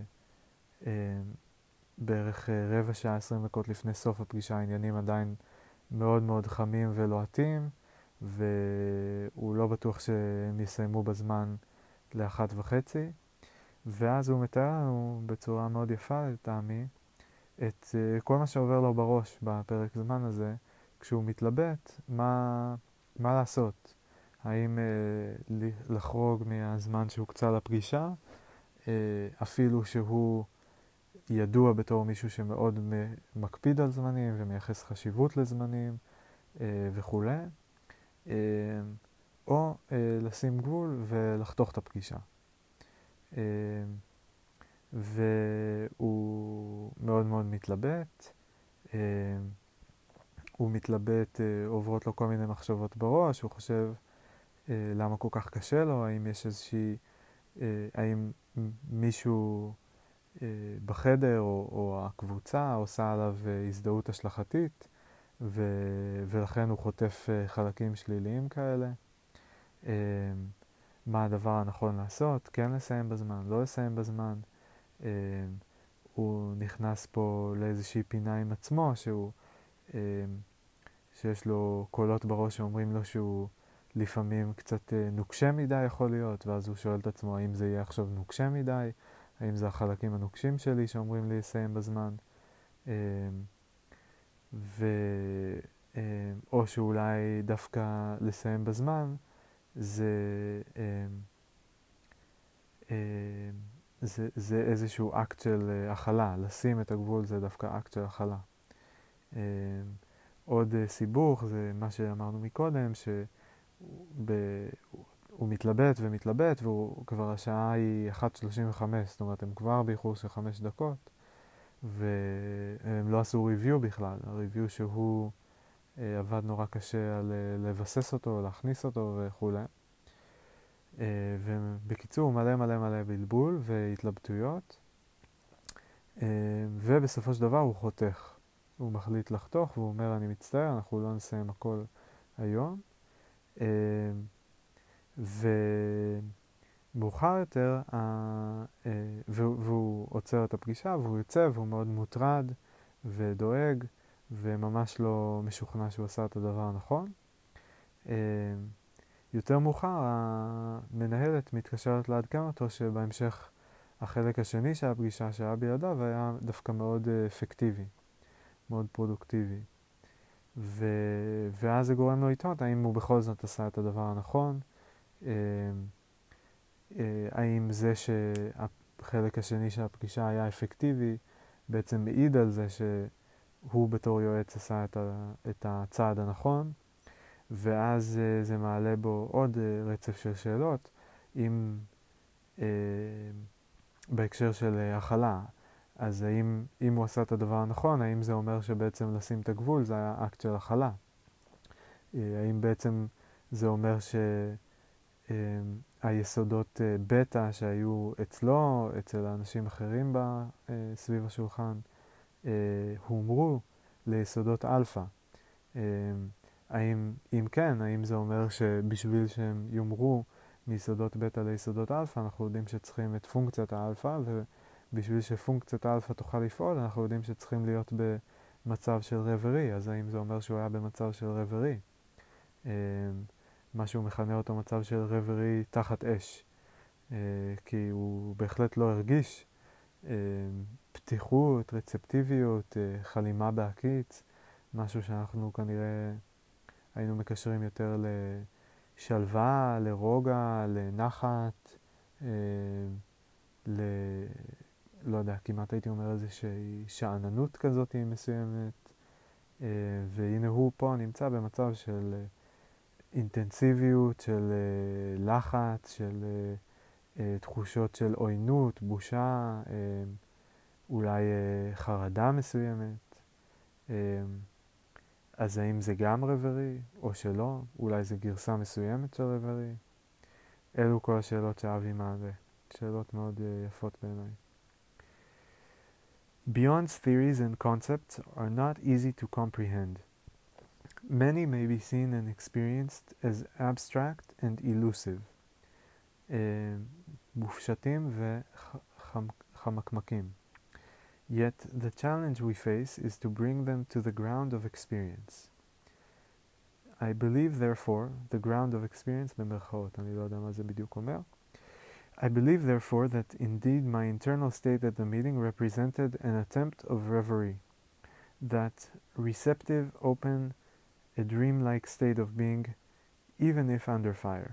שבערך רבע שעה, 20 דקות לפני סוף הפגישה, העניינים עדיין מאוד מאוד חמים ולוהטים, והוא לא בטוח שהם יסיימו בזמן ל1:30, ואז הוא מתאר לנו בצורה מאוד יפה לטעמי את כל מה שעובר לו בראש בפרק זמן הזה, כשהוא מתלבט מה לעשות. האם לחרוג מהזמן שהוקצה לפגישה, אפילו שהוא ידוע בתור מישהו שמאוד מקפיד על זמנים ומייחס חשיבות לזמנים וכו', או לשים גבול ולחתוך את הפגישה. והוא מאוד מאוד מתלבט. הוא מתלבט, עוברות לו כל מיני מחשבות בראש, הוא חושב למה כל כך קשה לו, האם יש האם מישהו בחדר או הקבוצה עושה עליו הזדהות השלכתית, ולכן הוא חוטף חלקים שליליים כאלה. מה הדבר הנכון לעשות? כן לסיים בזמן, לא לסיים בזמן. הוא נכנס פה לאיזושהי פינה עם עצמו, שיש לו קולות בראש שאומרים לו שהוא לפעמים קצת נוקשה מדי יכול להיות, ואז הוא שואל את עצמו האם זה יהיה עכשיו נוקשה מדי, האם זה החלקים הנוקשים שלי שאומרים לי לסיים בזמן, או שאולי דווקא לסיים בזמן זה זה איזשהו אקט של הכלה. לשים את הגבול זה דווקא אקט של הכלה. עוד סיבוך זה מה שאמרנו מקודם, שהוא מתלבט ומתלבט, וכבר השעה היא 1:35, זאת אומרת הם כבר באיחור של 5 דקות, והם לא עשו ריוויו בכלל. הריוויו שהוא עבד נורא קשה על לבסס אותו, להכניס אותו וכו'. ובקיצור מלא מלא מלא בלבול והתלבטויות, ובסופו של דבר הוא חותך. הוא מחליט לחתוך והוא אומר אני מצטער, אנחנו לא נסיים הכל היום. ומאוחר יותר, והוא עוצר את הפגישה והוא יוצא והוא מאוד מוטרד ודואג וממש לא משוכנע שהוא עשה את הדבר הנכון. יותר מאוחר המנהלת מתקשרת לעדכן אותו שבהמשך החלק השני של הפגישה שהיה בידיו היה דווקא מאוד אפקטיבי, מאוד פרודוקטיבי. ואז זה גורם לו לטעות האם הוא בכל זאת עשה את הדבר הנכון, האם זה שהחלק השני של הפגישה היה אפקטיבי בעצם מעיד על זה שהוא בתור יועץ עשה את הצעד הנכון, ואז זה מעלה בו עוד רצף של שאלות אם בהקשר של הכלה. אז אם הוא עשה את הדבר הנכון, האם זה אומר שבעצם לשים את הגבול זה היה אקט של הכלה? האם בעצם זה אומר שהיסודות בטא שהיו אצלו, אצל האנשים אחרים סביב השולחן, הומרו ליסודות אלפא? אם כן, האם זה אומר שבשביל שהם יומרו מיסודות בטא ליסודות אלפא, אנחנו יודעים שצריכים את פונקציית האלפא, ובשביל שפונקציית האלפא תוכל לפעול, אנחנו יודעים שצריכים להיות במצב של רברי. אז האם זה אומר שהוא היה במצב של רברי? מה שהוא מכנה אותו מצב של רברי תחת אש, כי הוא בהחלט לא הרגיש פתיחות, רצפטיביות, חלימה בהקיץ, משהו שאנחנו כנראה היינו מקשרים יותר לשלווה, לרוגע, לנחת, לא יודע, כמעט הייתי אומר איזושהי שאננות כזאת מסוימת, והנה הוא פה נמצא במצב של אינטנסיביות, של לחץ, של תחושות של עוינות, בושה, אולי חרדה מסוימת. אז האם זה גם רברי או שלא? אולי זה גרסה מסוימת של רברי? אלו כל השאלות שאבי מעלה. שאלות מאוד יפות בעיניי. Beyond's theories and concepts are not easy to comprehend. Many may be seen and experienced as abstract and elusive. מופשטים וחמקמקים. Yet the challenge we face is to bring them to the ground of experience. I believe therefore, the ground of experience במרכאות, אני לא יודע מה זה בדיוק אומר. I believe therefore that indeed my internal state at the meeting represented an attempt of reverie, that receptive, open, a dream-like state of being, even if under fire.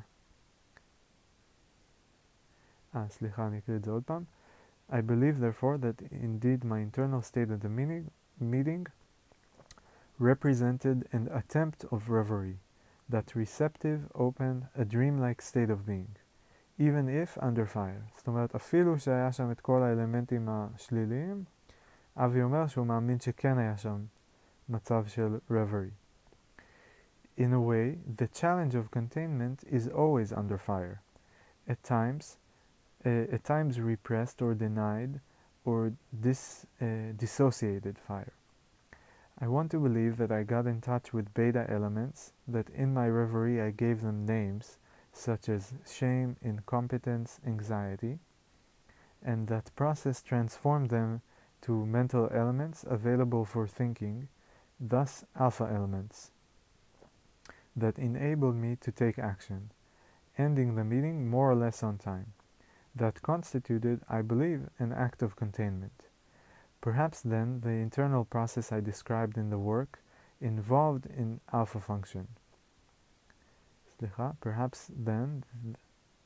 סליחה, אני אקריא את זה עוד פעם. I believe therefore that indeed my internal state at the meeting represented an attempt of reverie, that receptive, open, a dream-like state of being, even if under fire. זאת אומרת, אפילו שהיה שם את כל האלמנטים השליליים, אבי אומר שהוא מאמין שכן היה שם מצב של reverie. In a way, the challenge of containment is always under fire. At times repressed or denied or dissociated fire. I want to believe that I got in touch with beta elements, that in my reverie I gave them names, such as shame, incompetence, anxiety, and that process transformed them to mental elements available for thinking, thus alpha elements, that enabled me to take action, ending the meeting more or less on time. That constituted, I believe, an act of containment. Perhaps then the internal process I described in the work involved in alpha function. Perhaps then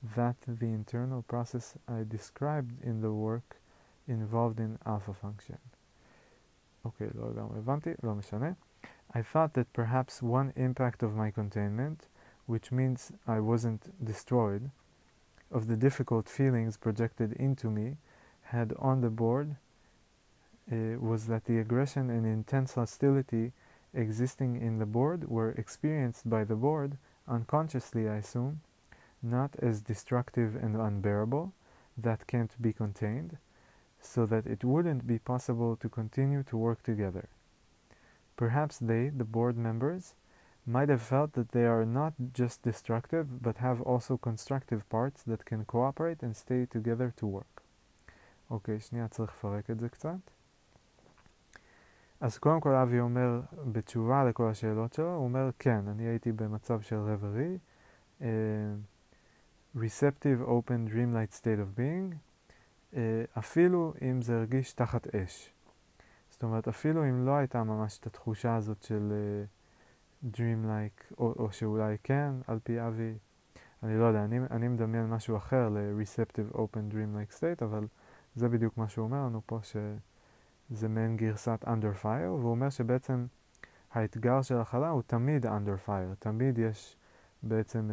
that the internal process I described in the work involved in alpha function. אוקיי, לא לגמרי הבנתי, לא משנה. I thought that perhaps one impact of my containment, which means I wasn't destroyed, of the difficult feelings projected into me had on the board was that the aggression and intense hostility existing in the board were experienced by the board, unconsciously I assume, not as destructive and unbearable, that can't be contained, so that it wouldn't be possible to continue to work together. Perhaps they, the board members, might have felt that they are not just destructive, but have also constructive parts that can cooperate and stay together to work. אוקיי, שנייה, צריך לפרק את זה קצת. אז קודם כל אבי אומר, בתשובה לכל השאלות שלו, הוא אומר, כן, אני הייתי במצב של רברי, receptive open dreamlight state of being, אפילו אם זה הרגיש תחת אש. זאת אומרת, אפילו אם לא הייתה ממש את התחושה הזאת של dreamlike, או שאולי כן, על פי אבי, אני לא יודע, אני מדמיין משהו אחר ל-receptive open dreamlike state, אבל זה בדיוק מה שהוא אומר לנו פה, שזה מעין גרסת under fire, והוא אומר שבעצם האתגר של החלה הוא תמיד under fire, תמיד יש בעצם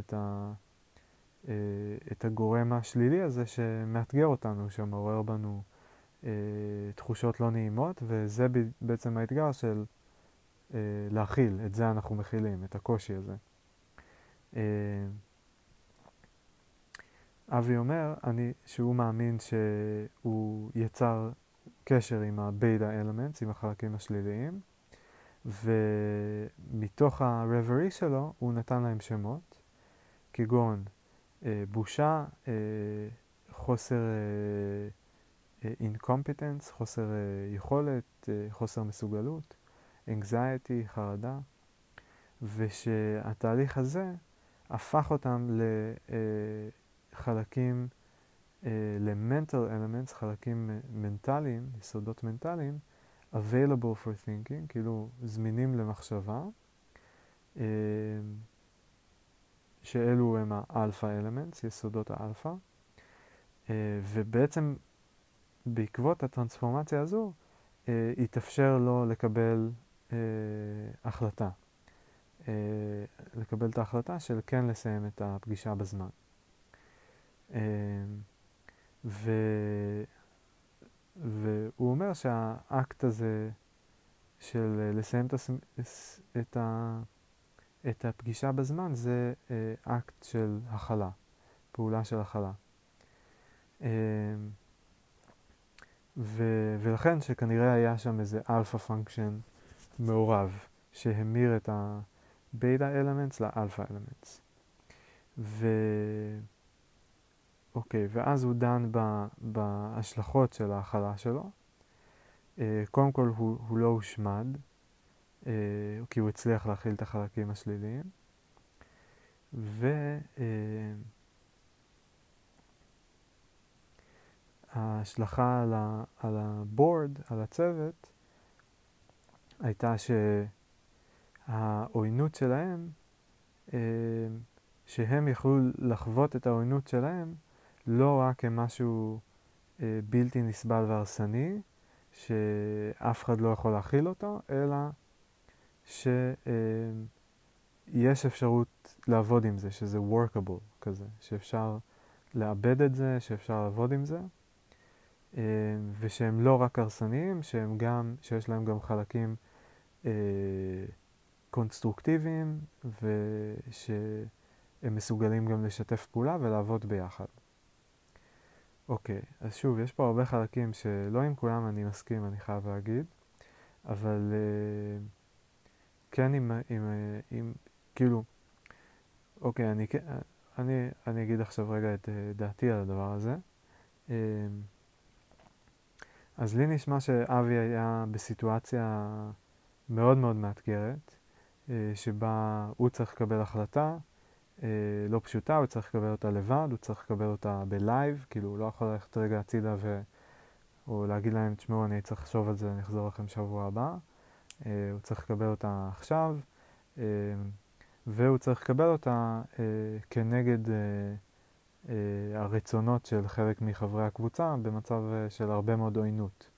את הגורם השלילי הזה שמאתגר אותנו, שמעורר בנו תחושות לא נעימות, וזה בעצם האתגר של להכיל, את זה אנחנו מכילים, את הקושי הזה. אבי אומר שהוא מאמין שהוא יצר קשר עם הבייטה אלמנטס, עם החלקים השליליים, ומתוך הרברי שלו הוא נתן להם שמות, כגון בושה, חוסר incompetence, חוסר יכולת, חוסר מסוגלות, anxiety, חרדה, ושהתהליך הזה הפך אותם לחלקים, ל-mental elements, חלקים מנטליים, יסודות מנטליים, available for thinking, כאילו זמינים למחשבה, שאלו הם האלפא אלמנטס, יסודות האלפא, ובעצם בעקבות הטרנספורמציה הזו, יתאפשר לו לקבל החלטה. לקבל את ההחלטה של כן לסיים את הפגישה בזמן. והוא אומר שהאקט הזה של לסיים את הפגישה בזמן זה אקט של הכלה, פעולה של הכלה. ולכן שכנראה היה שם איזה אלפא פונקשן מעורב שהמיר את הבייטה אלמנטס לאלפא אלמנטס. אוקיי, ואז הוא דן בהשלכות של ההכלה שלו. קודם כל הוא לא הושמד, כי הוא הצליח להכיל את החלקים השליליים. ההשלכה על הבורד, על הצוות, הייתה שהעוינות שלהם, שהם יכלו לחוות את העוינות שלהם, לא רק כמשהו בלתי נסבל והרסני, שאף אחד לא יכול להכיל אותו, אלא שיש אפשרות לעבוד עם זה, שזה workable כזה, שאפשר לאבד את זה, שאפשר לעבוד עם זה, ושהם לא רק הרסניים, שיש להם גם חלקים קונסטרוקטיביים, ושהם מסוגלים גם לשתף פעולה ולעבוד ביחד. אוקיי, אז שוב, יש פה הרבה חלקים שלא עם כולם אני מסכים, אני חייב להגיד, אבל כן עם כאילו, אוקיי, אני אגיד עכשיו רגע את דעתי על הדבר הזה. אז לי נשמע שאבי היה בסיטואציה מאוד מאוד מאתגרת, שבה הוא צריך לקבל החלטה לא פשוטה, הוא צריך לקבל אותה לבד, הוא צריך לקבל אותה בלייב, כאילו הוא לא יכול ללכת רגע הצידה או להגיד להם, תשמעו, אני צריך לחשוב על זה, אני אחזור לכם שבוע הבא. הוא צריך לקבל אותה עכשיו, והוא צריך לקבל אותה כנגד הרצונות של חלק מחברי הקבוצה במצב של הרבה מאוד עוינות.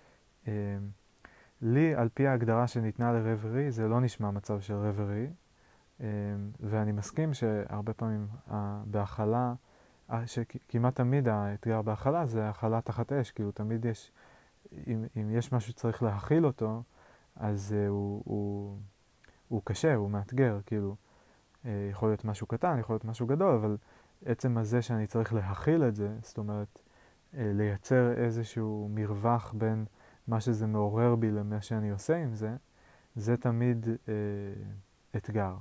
לי, על פי ההגדרה שניתנה לרברי, זה לא נשמע מצב של רברי, ואני מסכים שהרבה פעמים בהכלה, שכמעט תמיד האתגר בהכלה זה הכלה תחת אש, כאילו תמיד יש, אם יש משהו שצריך להכיל אותו, אז הוא קשה, הוא מאתגר, כאילו, יכול להיות משהו קטן, יכול להיות משהו גדול, אבל עצם הזה שאני צריך להכיל את זה, זאת אומרת, לייצר איזשהו מרווח בין מה שזה מעורר בי למה שאני עושה עם זה, זה תמיד אתגר.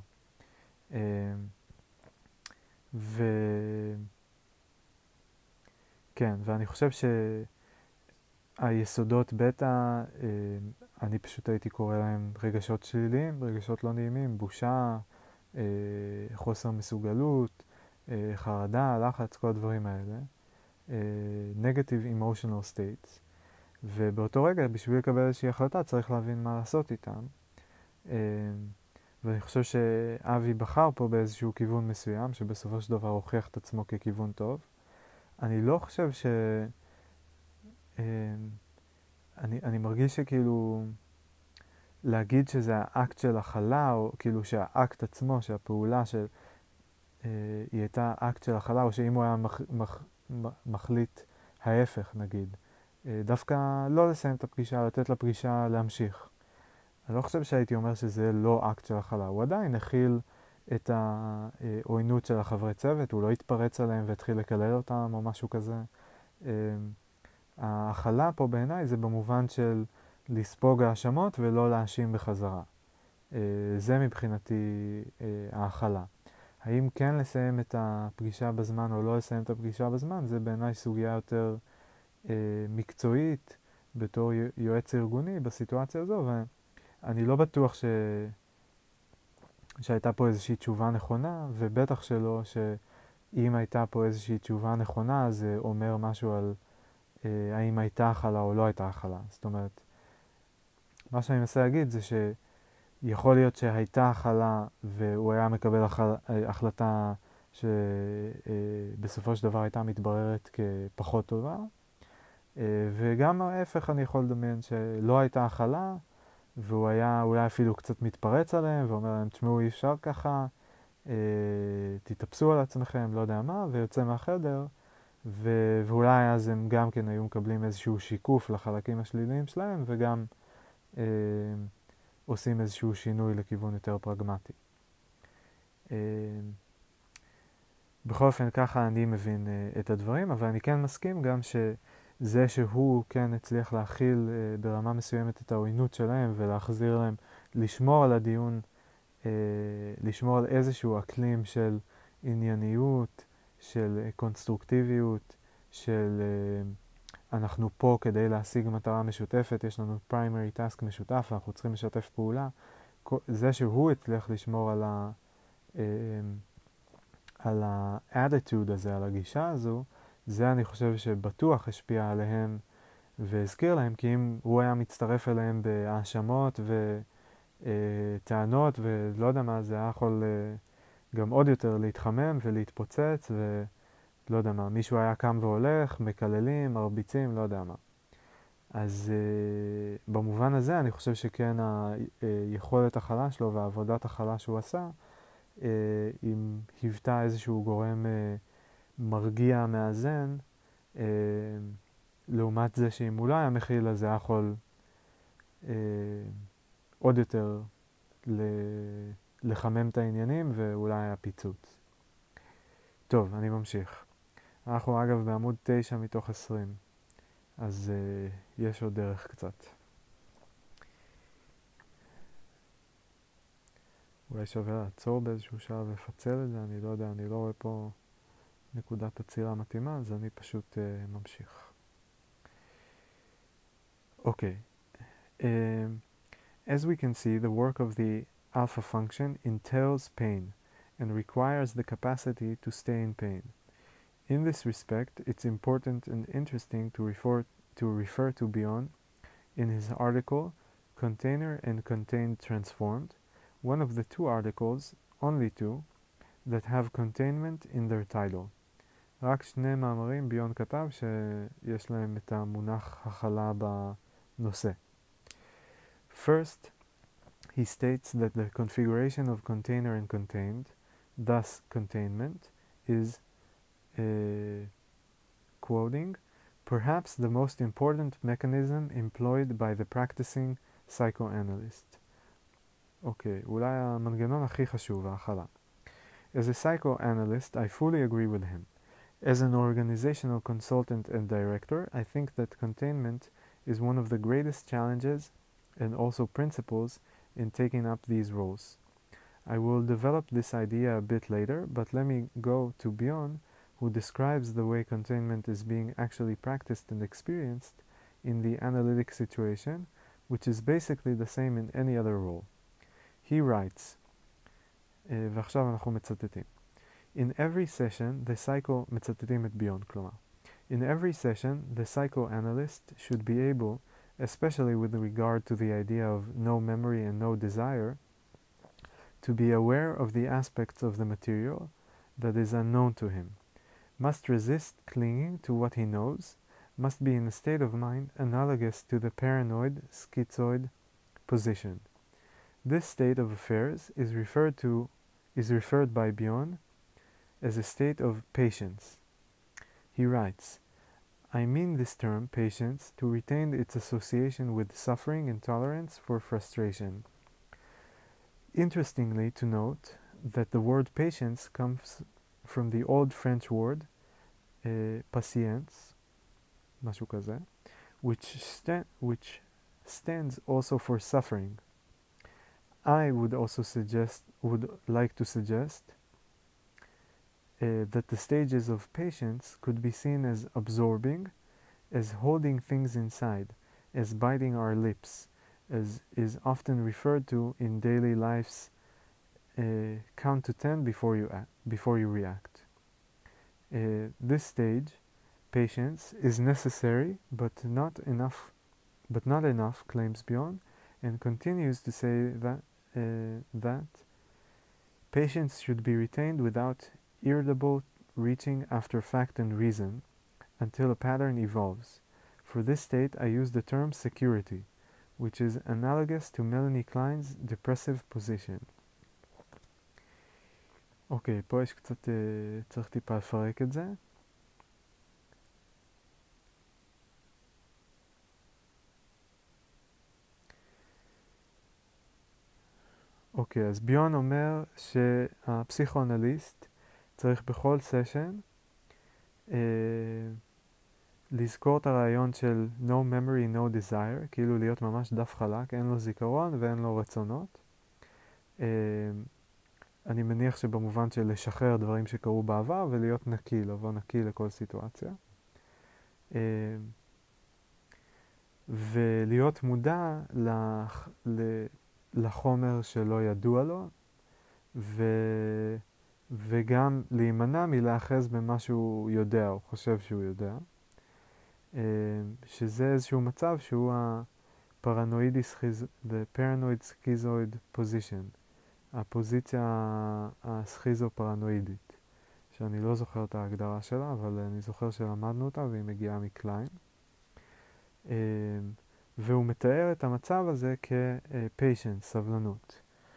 כן, ואני חושב שהיסודות בטא, אני פשוט הייתי קורא להם רגשות שליליים, רגשות לא נעימים, בושה, חוסר מסוגלות, חרדה, לחץ, כל הדברים האלה. Negative emotional states. ובאותו רגע, בשביל לקבל איזושהי החלטה, צריך להבין מה לעשות איתם. ואני חושב שאבי בחר פה באיזשהו כיוון מסוים, שבסופו של דבר הוכיח את עצמו ככיוון טוב. אני לא חושב אני מרגיש שכאילו להגיד שזה האקט של הכלה, או כאילו שהאקט עצמו, שהפעולה של היא הייתה אקט של הכלה, או שאם הוא היה מחליט ההפך נגיד, דווקא לא לסיים את הפגישה, לתת לפגישה להמשיך. אני לא חושב שהייתי אומר שזה לא אקט של הכלה, הוא עדיין הכיל את העוינות של החברי צוות, הוא לא התפרץ עליהם והתחיל לקלל אותם או משהו כזה. ההכלה פה בעיניי זה במובן של לספוג האשמות ולא להאשים בחזרה. זה מבחינתי ההכלה. האם כן לסיים את הפגישה בזמן או לא לסיים את הפגישה בזמן, זה בעיניי סוגיה יותר מקצועית בתור יועץ ארגוני בסיטואציה הזו, ואני לא בטוח שהייתה פה איזושהי תשובה נכונה, ובטח שלא שאם הייתה פה איזושהי תשובה נכונה, זה אומר משהו על האם הייתה הכלה או לא הייתה הכלה. זאת אומרת, מה שאני מנסה להגיד זה שיכול להיות שהייתה הכלה והוא היה מקבל החלטה שבסופו של דבר הייתה מתבררת כפחות טובה, וגם ההפך אני יכול לדמיין שלא הייתה הכלה והוא היה אולי אפילו קצת מתפרץ עליהם ואומר להם, תשמעו, אי אפשר ככה, תתאפסו על עצמכם, לא יודע מה, ויוצא מהחדר, ואולי אז הם גם כן היו מקבלים איזשהו שיקוף לחלקים השליליים שלהם, וגם עושים איזשהו שינוי לכיוון יותר פרגמטי. בכל אופן, ככה אני מבין את הדברים, אבל אני כן מסכים גם שזה שהוא כן הצליח להכיל ברמה מסוימת את העוינות שלהם ולהחזיר להם, לשמור על הדיון, לשמור על איזשהו אקלים של ענייניות, של קונסטרוקטיביות, של אנחנו פה כדי להשיג מטרה משותפת, יש לנו primary task משותף, אנחנו צריכים לשתף פעולה. זה שהוא הצליח לשמור על ה-attitude הזה, על הגישה הזו, זה אני חושב שבטוח השפיע עליהם והזכיר להם, כי אם הוא היה מצטרף אליהם בהאשמות וטענות ולא יודע מה, זה היה יכול גם עוד יותר להתחמם ולהתפוצץ ולא יודע מה, מישהו היה קם והולך, מקללים, מרביצים, לא יודע מה. אז במובן הזה אני חושב שכן היכולת הכלה שלו והעבודת הכלה שהוא עשה, אם היוותה איזשהו גורם מרגיע, מאזן, לעומת זה שאם הוא לא היה מכיל, אז זה היה יכול עוד יותר לחמם את העניינים ואולי היה פיצוץ. טוב, אני ממשיך. אנחנו אגב בעמוד 9 מתוך 20, אז יש עוד דרך קצת. אולי שווה לעצור באיזשהו שלב ולפצל את זה, אני לא יודע, אני לא רואה פה נקודת עצירה מתאימה, אז אני פשוט ממשיך. אוקיי. As we can see, the work of the alpha function entails pain and requires the capacity to stay in pain. In this respect, it's important and interesting to refer to Bion in his article Container and Contained Transformed, one of the two articles, only two, that have containment in their title. רק שני מאמרים ביון כתב שיש להם את המונח הכלה בנושא. First, he states that the configuration of container and contained, thus containment, is, quoting, perhaps the most important mechanism employed by the practicing psychoanalyst. אוקיי, אולי המנגנון הכי חשוב, ההכלה. As a psychoanalyst, I fully agree with him. As an organizational consultant and director, I think that containment is one of the greatest challenges and also principles in taking up these roles. I will develop this idea a bit later, but let me go to Bion, who describes the way containment is being actually practiced and experienced in the analytic situation, which is basically the same in any other role. He writes, ועכשיו אנחנו מצטטים. In every session, the מצטטים את ביון, כלומר. In every session, the psychoanalyst should be able, especially with regard to the idea of no memory and no desire, to be aware of the aspects of the material that is unknown to him, must resist clinging to what he knows, must be in a state of mind analogous to the paranoid, schizoid position. This state of affairs is referred by Bion as a state of patience. He writes, I mean this term, patience, to retain its association with suffering and tolerance for frustration. Interestingly to note that the word patience comes from the old French word patience, משהו כזה, which stands also for suffering. I would like to suggest that the stages of patience could be seen as absorbing, as holding things inside, as biting our lips, as is often referred to in daily life's count to 10 before you react. This stage, patience, is necessary but not enough, claims Bion, and continues to say that patience should be retained without irritable reaching after fact and reason until a pattern evolves. For this state, I use the term security, which is analogous to Melanie Klein's depressive position. אוקיי, פה יש קצת, צריך טיפה לפרק את זה. אוקיי, אז ביון אומר שהפסיכואנליסט צריך בכל סשן לזכור את הרעיון של no memory, no desire, כאילו להיות ממש דף חלק, אין לו זיכרון ואין לו רצונות. אני מניח שבמובן של לשחרר דברים שקרו בעבר ולהיות נקי, לבוא נקי לכל סיטואציה. ולהיות מודע לחומר שלא ידוע לו, וגם להימנע מלאחז במה שהוא יודע או חושב שהוא יודע, שזה איזשהו מצב שהוא the paranoid schizoid position, הפוזיציה הסכיזו-פרנואידית, שאני לא זוכר את ההגדרה שלה, אבל אני זוכר שלמדנו אותה והיא מגיעה מקליין. והוא מתאר את המצב הזה כ-patience, סבלנות.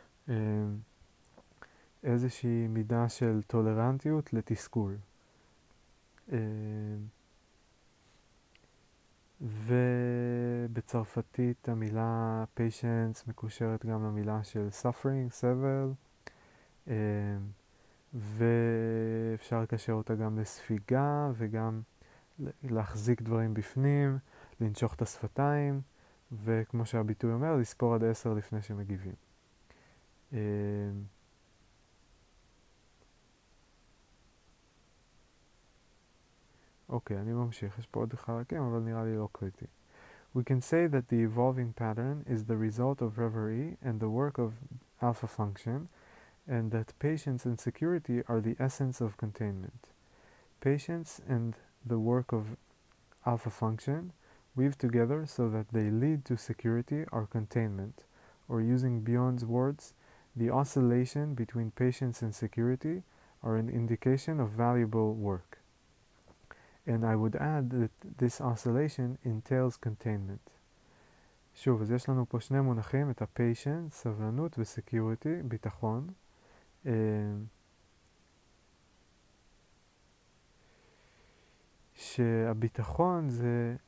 איזושהי מידה של טולרנטיות לתסכול. ובצרפתית המילה patience מקושרת גם למילה של suffering, סבל, ואפשר לקשר אותה גם לספיגה וגם להחזיק דברים בפנים, לנשוך את השפתיים, וכמו שהביטוי אומר, לספור עד 10 לפני שמגיבים. אוקיי, אני ממשיך. יש פה עוד חלקים, אבל נראה לי לא קריטי. We can say that the evolving pattern is the result of reverie and the work of alpha function, and that patience and security are the essence of containment. Patience and the work of alpha function weave together so that they lead to security or containment, or using Bion's words, the oscillation between patience and security are an indication of valuable work. And I would add that this oscillation entails containment. שוב, אז יש לנו פה שני מונחים, את ה-patience, סבלנות, ו-security, ביטחון. שהביטחון זה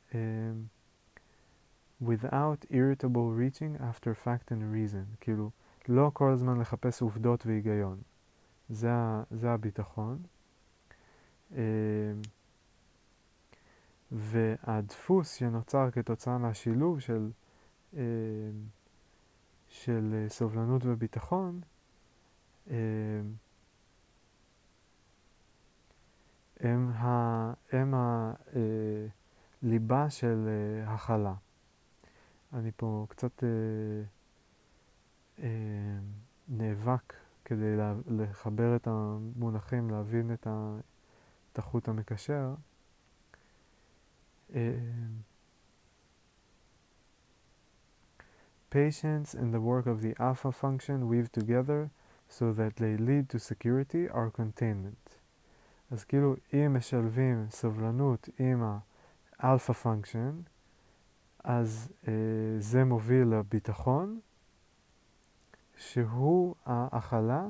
without irritable reaching after fact and reason. כאילו, לא כל הזמן לחפש עובדות והיגיון. זה הביטחון. והדפוס שנוצר כתוצאה מהשילוב של סובלנות וביטחון, הם הליבה של הכלה. אני פה קצת נאבק כדי לחבר את המונחים, להבין את החוט המקשר. Patience and the work of the alpha function weave together so that they lead to security or containment. אז כאילו אם משלבים סובלנות עם האלפא פונקשן, אז זה מוביל לביטחון, שהוא ההכלה.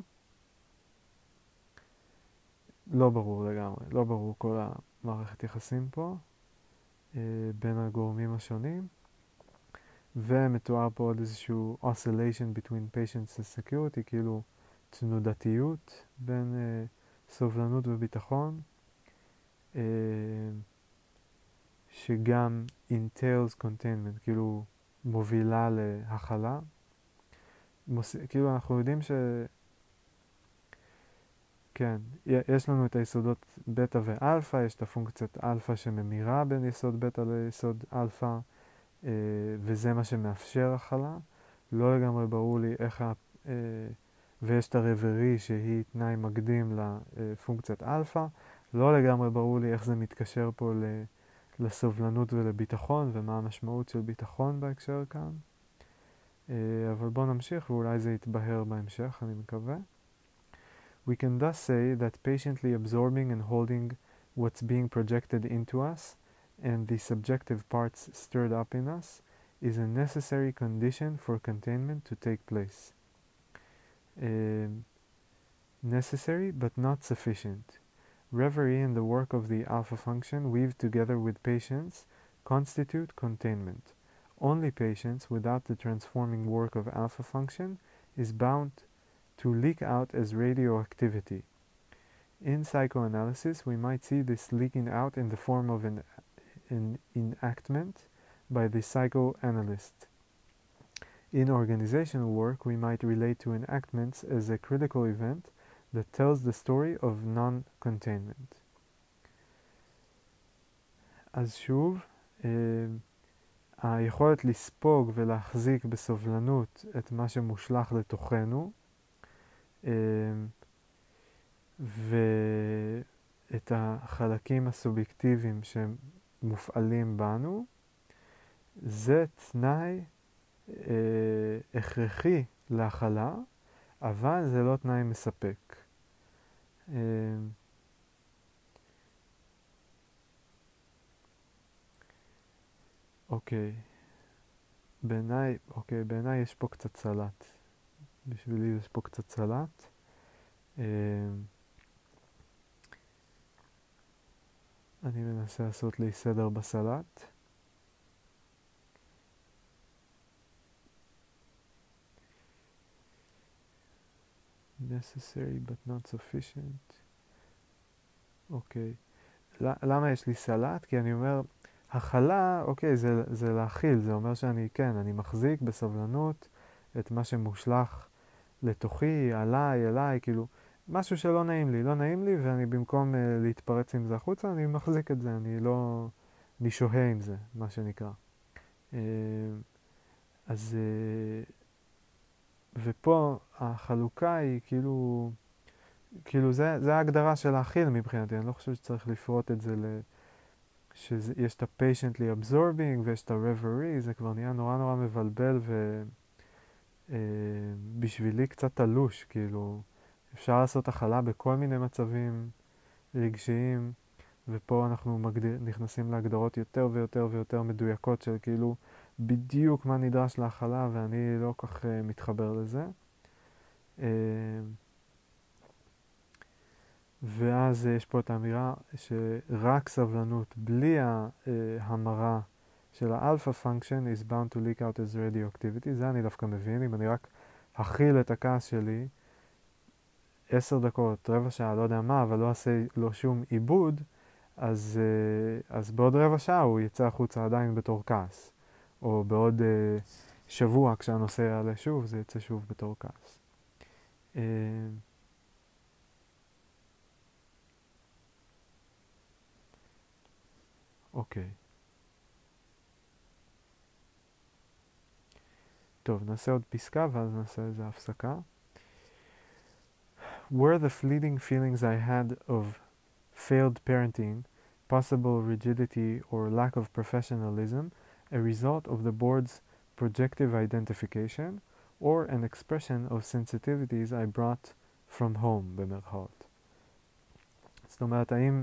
לא ברור לגמרי, לא ברור כל המערכת יחסים פה בין הגורמים השונים, ומתואר פה עוד איזשהו oscillation between patience and security, כאילו תנודתיות בין סובלנות וביטחון, שגם entails containment, כאילו מובילה להכלה. כאילו אנחנו יודעים כן, יש לנו את היסודות בטא ואלפא, יש את הפונקציית אלפא שממירה בין יסוד בטא ליסוד אלפא, וזה מה שמאפשר הכלה. לא לגמרי ברור לי איך ויש את הרברי שהיא תנאי מקדים לפונקציית אלפא. לא לגמרי ברור לי איך זה מתקשר פה לסובלנות ולביטחון, ומה המשמעות של ביטחון בהקשר כאן. אבל בואו נמשיך ואולי זה יתבהר בהמשך, אני מקווה. We can thus say that patiently absorbing and holding what's being projected into us and the subjective parts stirred up in us is a necessary condition for containment to take place. Necessary but not sufficient. Reverie and the work of the alpha function weaved together with patience constitute containment. Only patience without the transforming work of alpha function is bound to leak out as radioactivity. In psychoanalysis, we might see this leaking out in the form of an enactment by the psychoanalyst. In organizational work, we might relate to enactments as a critical event that tells the story of non-containment. אז שוב, היכולת לספוג ולהחזיק בסובלנות את מה שמושלך לתוכנו, ואת החלקים הסובייקטיביים שמופעלים בנו, זה תנאי הכרחי להכלה, אבל זה לא תנאי מספק. אוקיי. בעיניי יש פה קצת סלט. בשבילי יש פה קצת סלט. אני מנסה לעשות לי סדר בסלט. necessary but not sufficient. אוקיי. למה יש לי סלט? כי אני אומר, הכלה, אוקיי, זה להכיל. זה אומר אני מחזיק בסבלנות את מה שמושלך לתוכי, אליי, כאילו, משהו שלא נעים לי, ואני במקום להתפרץ עם זה החוצה, אני מחזיק את זה, אני שוהה עם זה, מה שנקרא. אז, ופה החלוקה היא כאילו זה ההגדרה של להכיל מבחינתי, אני לא חושב שצריך לפרוט את זה שיש את ה-patiently absorbing ויש את ה-reverie, זה כבר נהיה נורא נורא מבלבל בשבילי קצת תלוש, כאילו אפשר לעשות הכלה בכל מיני מצבים רגשיים, ופה אנחנו נכנסים להגדרות יותר ויותר ויותר מדויקות של כאילו בדיוק מה נדרש להכלה, ואני לא כך מתחבר לזה. ואז יש פה את האמירה שרק סבלנות בלי ההמרה של האלפא פונקשן is bound to leak out as radioactivity. זה אני דווקא מבין. אם אני רק אכיל את הכעס שלי 10 דקות, רבע שעה, לא יודע מה, אבל לא אעשה לו שום עיבוד, אז בעוד רבע שעה הוא יצא החוצה עדיין בתור כעס. או בעוד שבוע כשהנושא יעלה שוב, זה יצא שוב בתור כעס. אוקיי. טוב, נעשה עוד פסקה ואז נעשה איזה הפסקה. Were the fleeting feelings I had of failed parenting, possible rigidity or lack of professionalism, a result of the board's projective identification, or an expression of sensitivities I brought from home, במרכאות. זאת אומרת, האם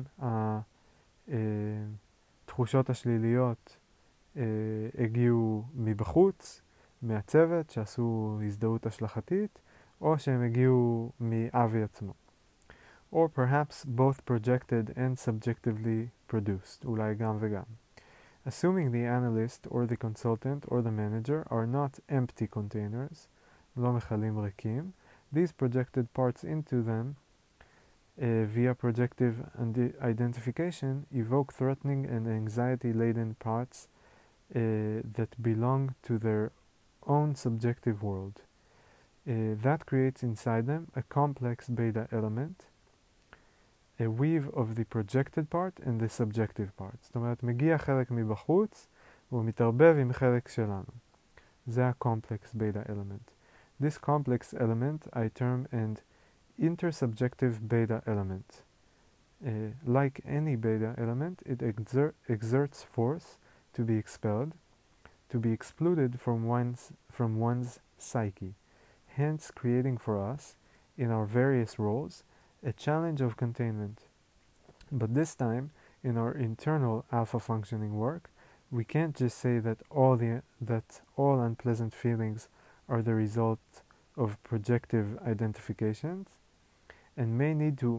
התחושות השליליות הגיעו מבחוץ, מהצוות שעשו הזדהות השלכתית, או שהם הגיעו מאבי עצמו. Or perhaps both projected and subjectively produced, אולי גם וגם. Assuming the analyst or the consultant or the manager are not empty containers, לא מכלים ריקים, these projected parts into them via projective identification evoke threatening and anxiety-laden parts that belong to their own subjective world. That creates inside them a complex beta element, a weave of the projected part and the subjective part. זאת אומרת, מגיע חלק מבחוץ, והוא מתערבב עם חלק שלנו. זה ה-complex beta element. This complex element I term an intersubjective beta element. Like any beta element, it exerts force to be expelled, to be excluded from one's psyche, hence creating for us, in our various roles, a challenge of containment. But this time, in our internal alpha functioning work, we can't just say that all unpleasant feelings are the result of projective identifications, and may need to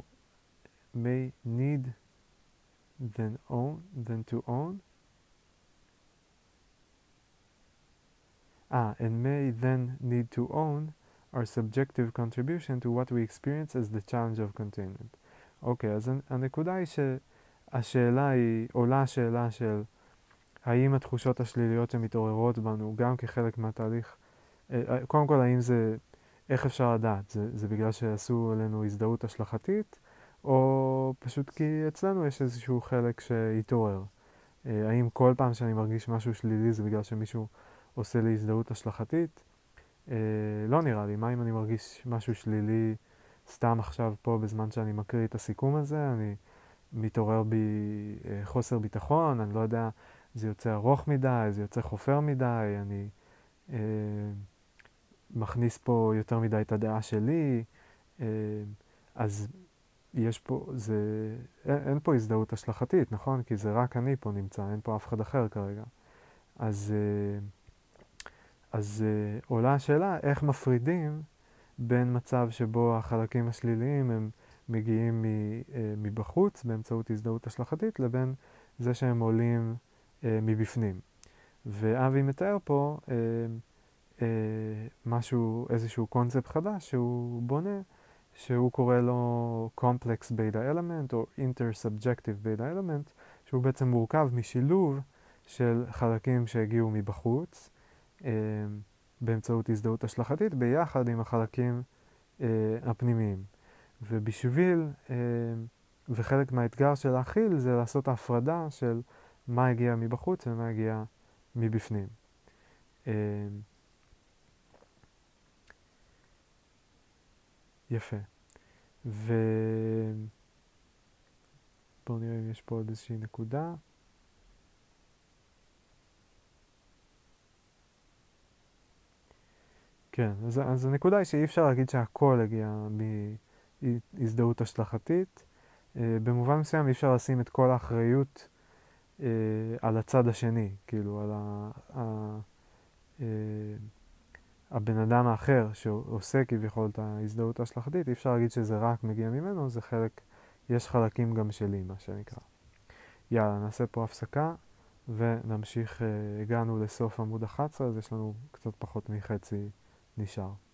own our subjective contribution to what we experience as the challenge of containment. אוקיי, אז הנקודה היא עולה השאלה של האם התחושות השליליות שמתעוררות בנו גם כחלק מהתהליך, קודם כל האם זה, איך אפשר לדעת? זה בגלל שעשו עלינו הזדהות השלכתית, או פשוט כי אצלנו יש איזשהו חלק שהתעורר? האם כל פעם שאני מרגיש משהו שלילי זה בגלל שמישהו עושה לי הזדהות השלכתית? לא נראה לי. מה אם אני מרגיש משהו שלילי סתם עכשיו פה בזמן שאני מקריא את הסיכום הזה? אני מתעורר בי חוסר ביטחון, אני לא יודע, זה יוצא ארוך מדי, זה יוצא חופר מדי, אני מכניס פה יותר מדי את הדעה שלי, אז יש פה, אין פה הזדהות השלכתית, נכון? כי זה רק אני פה נמצא, אין פה אף אחד אחר כרגע. אז עולה השאלה איך מפרידים בין מצב שבו החלקים השליליים הם מגיעים מבחוץ באמצעות הזדהות השלכתית, לבין זה שהם עולים מבפנים. ואבי מתאר פה איזשהו קונספט חדש שהוא בונה, שהוא קורא לו complex beta element או intersubjective beta element, שהוא בעצם מורכב משילוב של חלקים שהגיעו מבחוץ, באמצעות הזדהות השלכתית, ביחד עם החלקים הפנימיים. וחלק מהאתגר של להכיל זה לעשות ההפרדה של מה הגיע מבחוץ ומה הגיע מבפנים. יפה. בואו נראה אם יש פה עוד איזושהי נקודה. כן, אז הנקודה היא שאי אפשר להגיד שהכל הגיע מהזדהות השלכתית. במובן מסוים אי אפשר לשים את כל האחריות על הצד השני, כאילו על אה, הבן אדם האחר שעושה כביכול את ההזדהות ההשלכתית, אי אפשר להגיד שזה רק מגיע ממנו, זה חלק, יש חלקים גם שלי, מה שנקרא. יאללה, נעשה פה הפסקה ונמשיך, הגענו לסוף עמוד 11, אז יש לנו קצת פחות מחצי נשאר.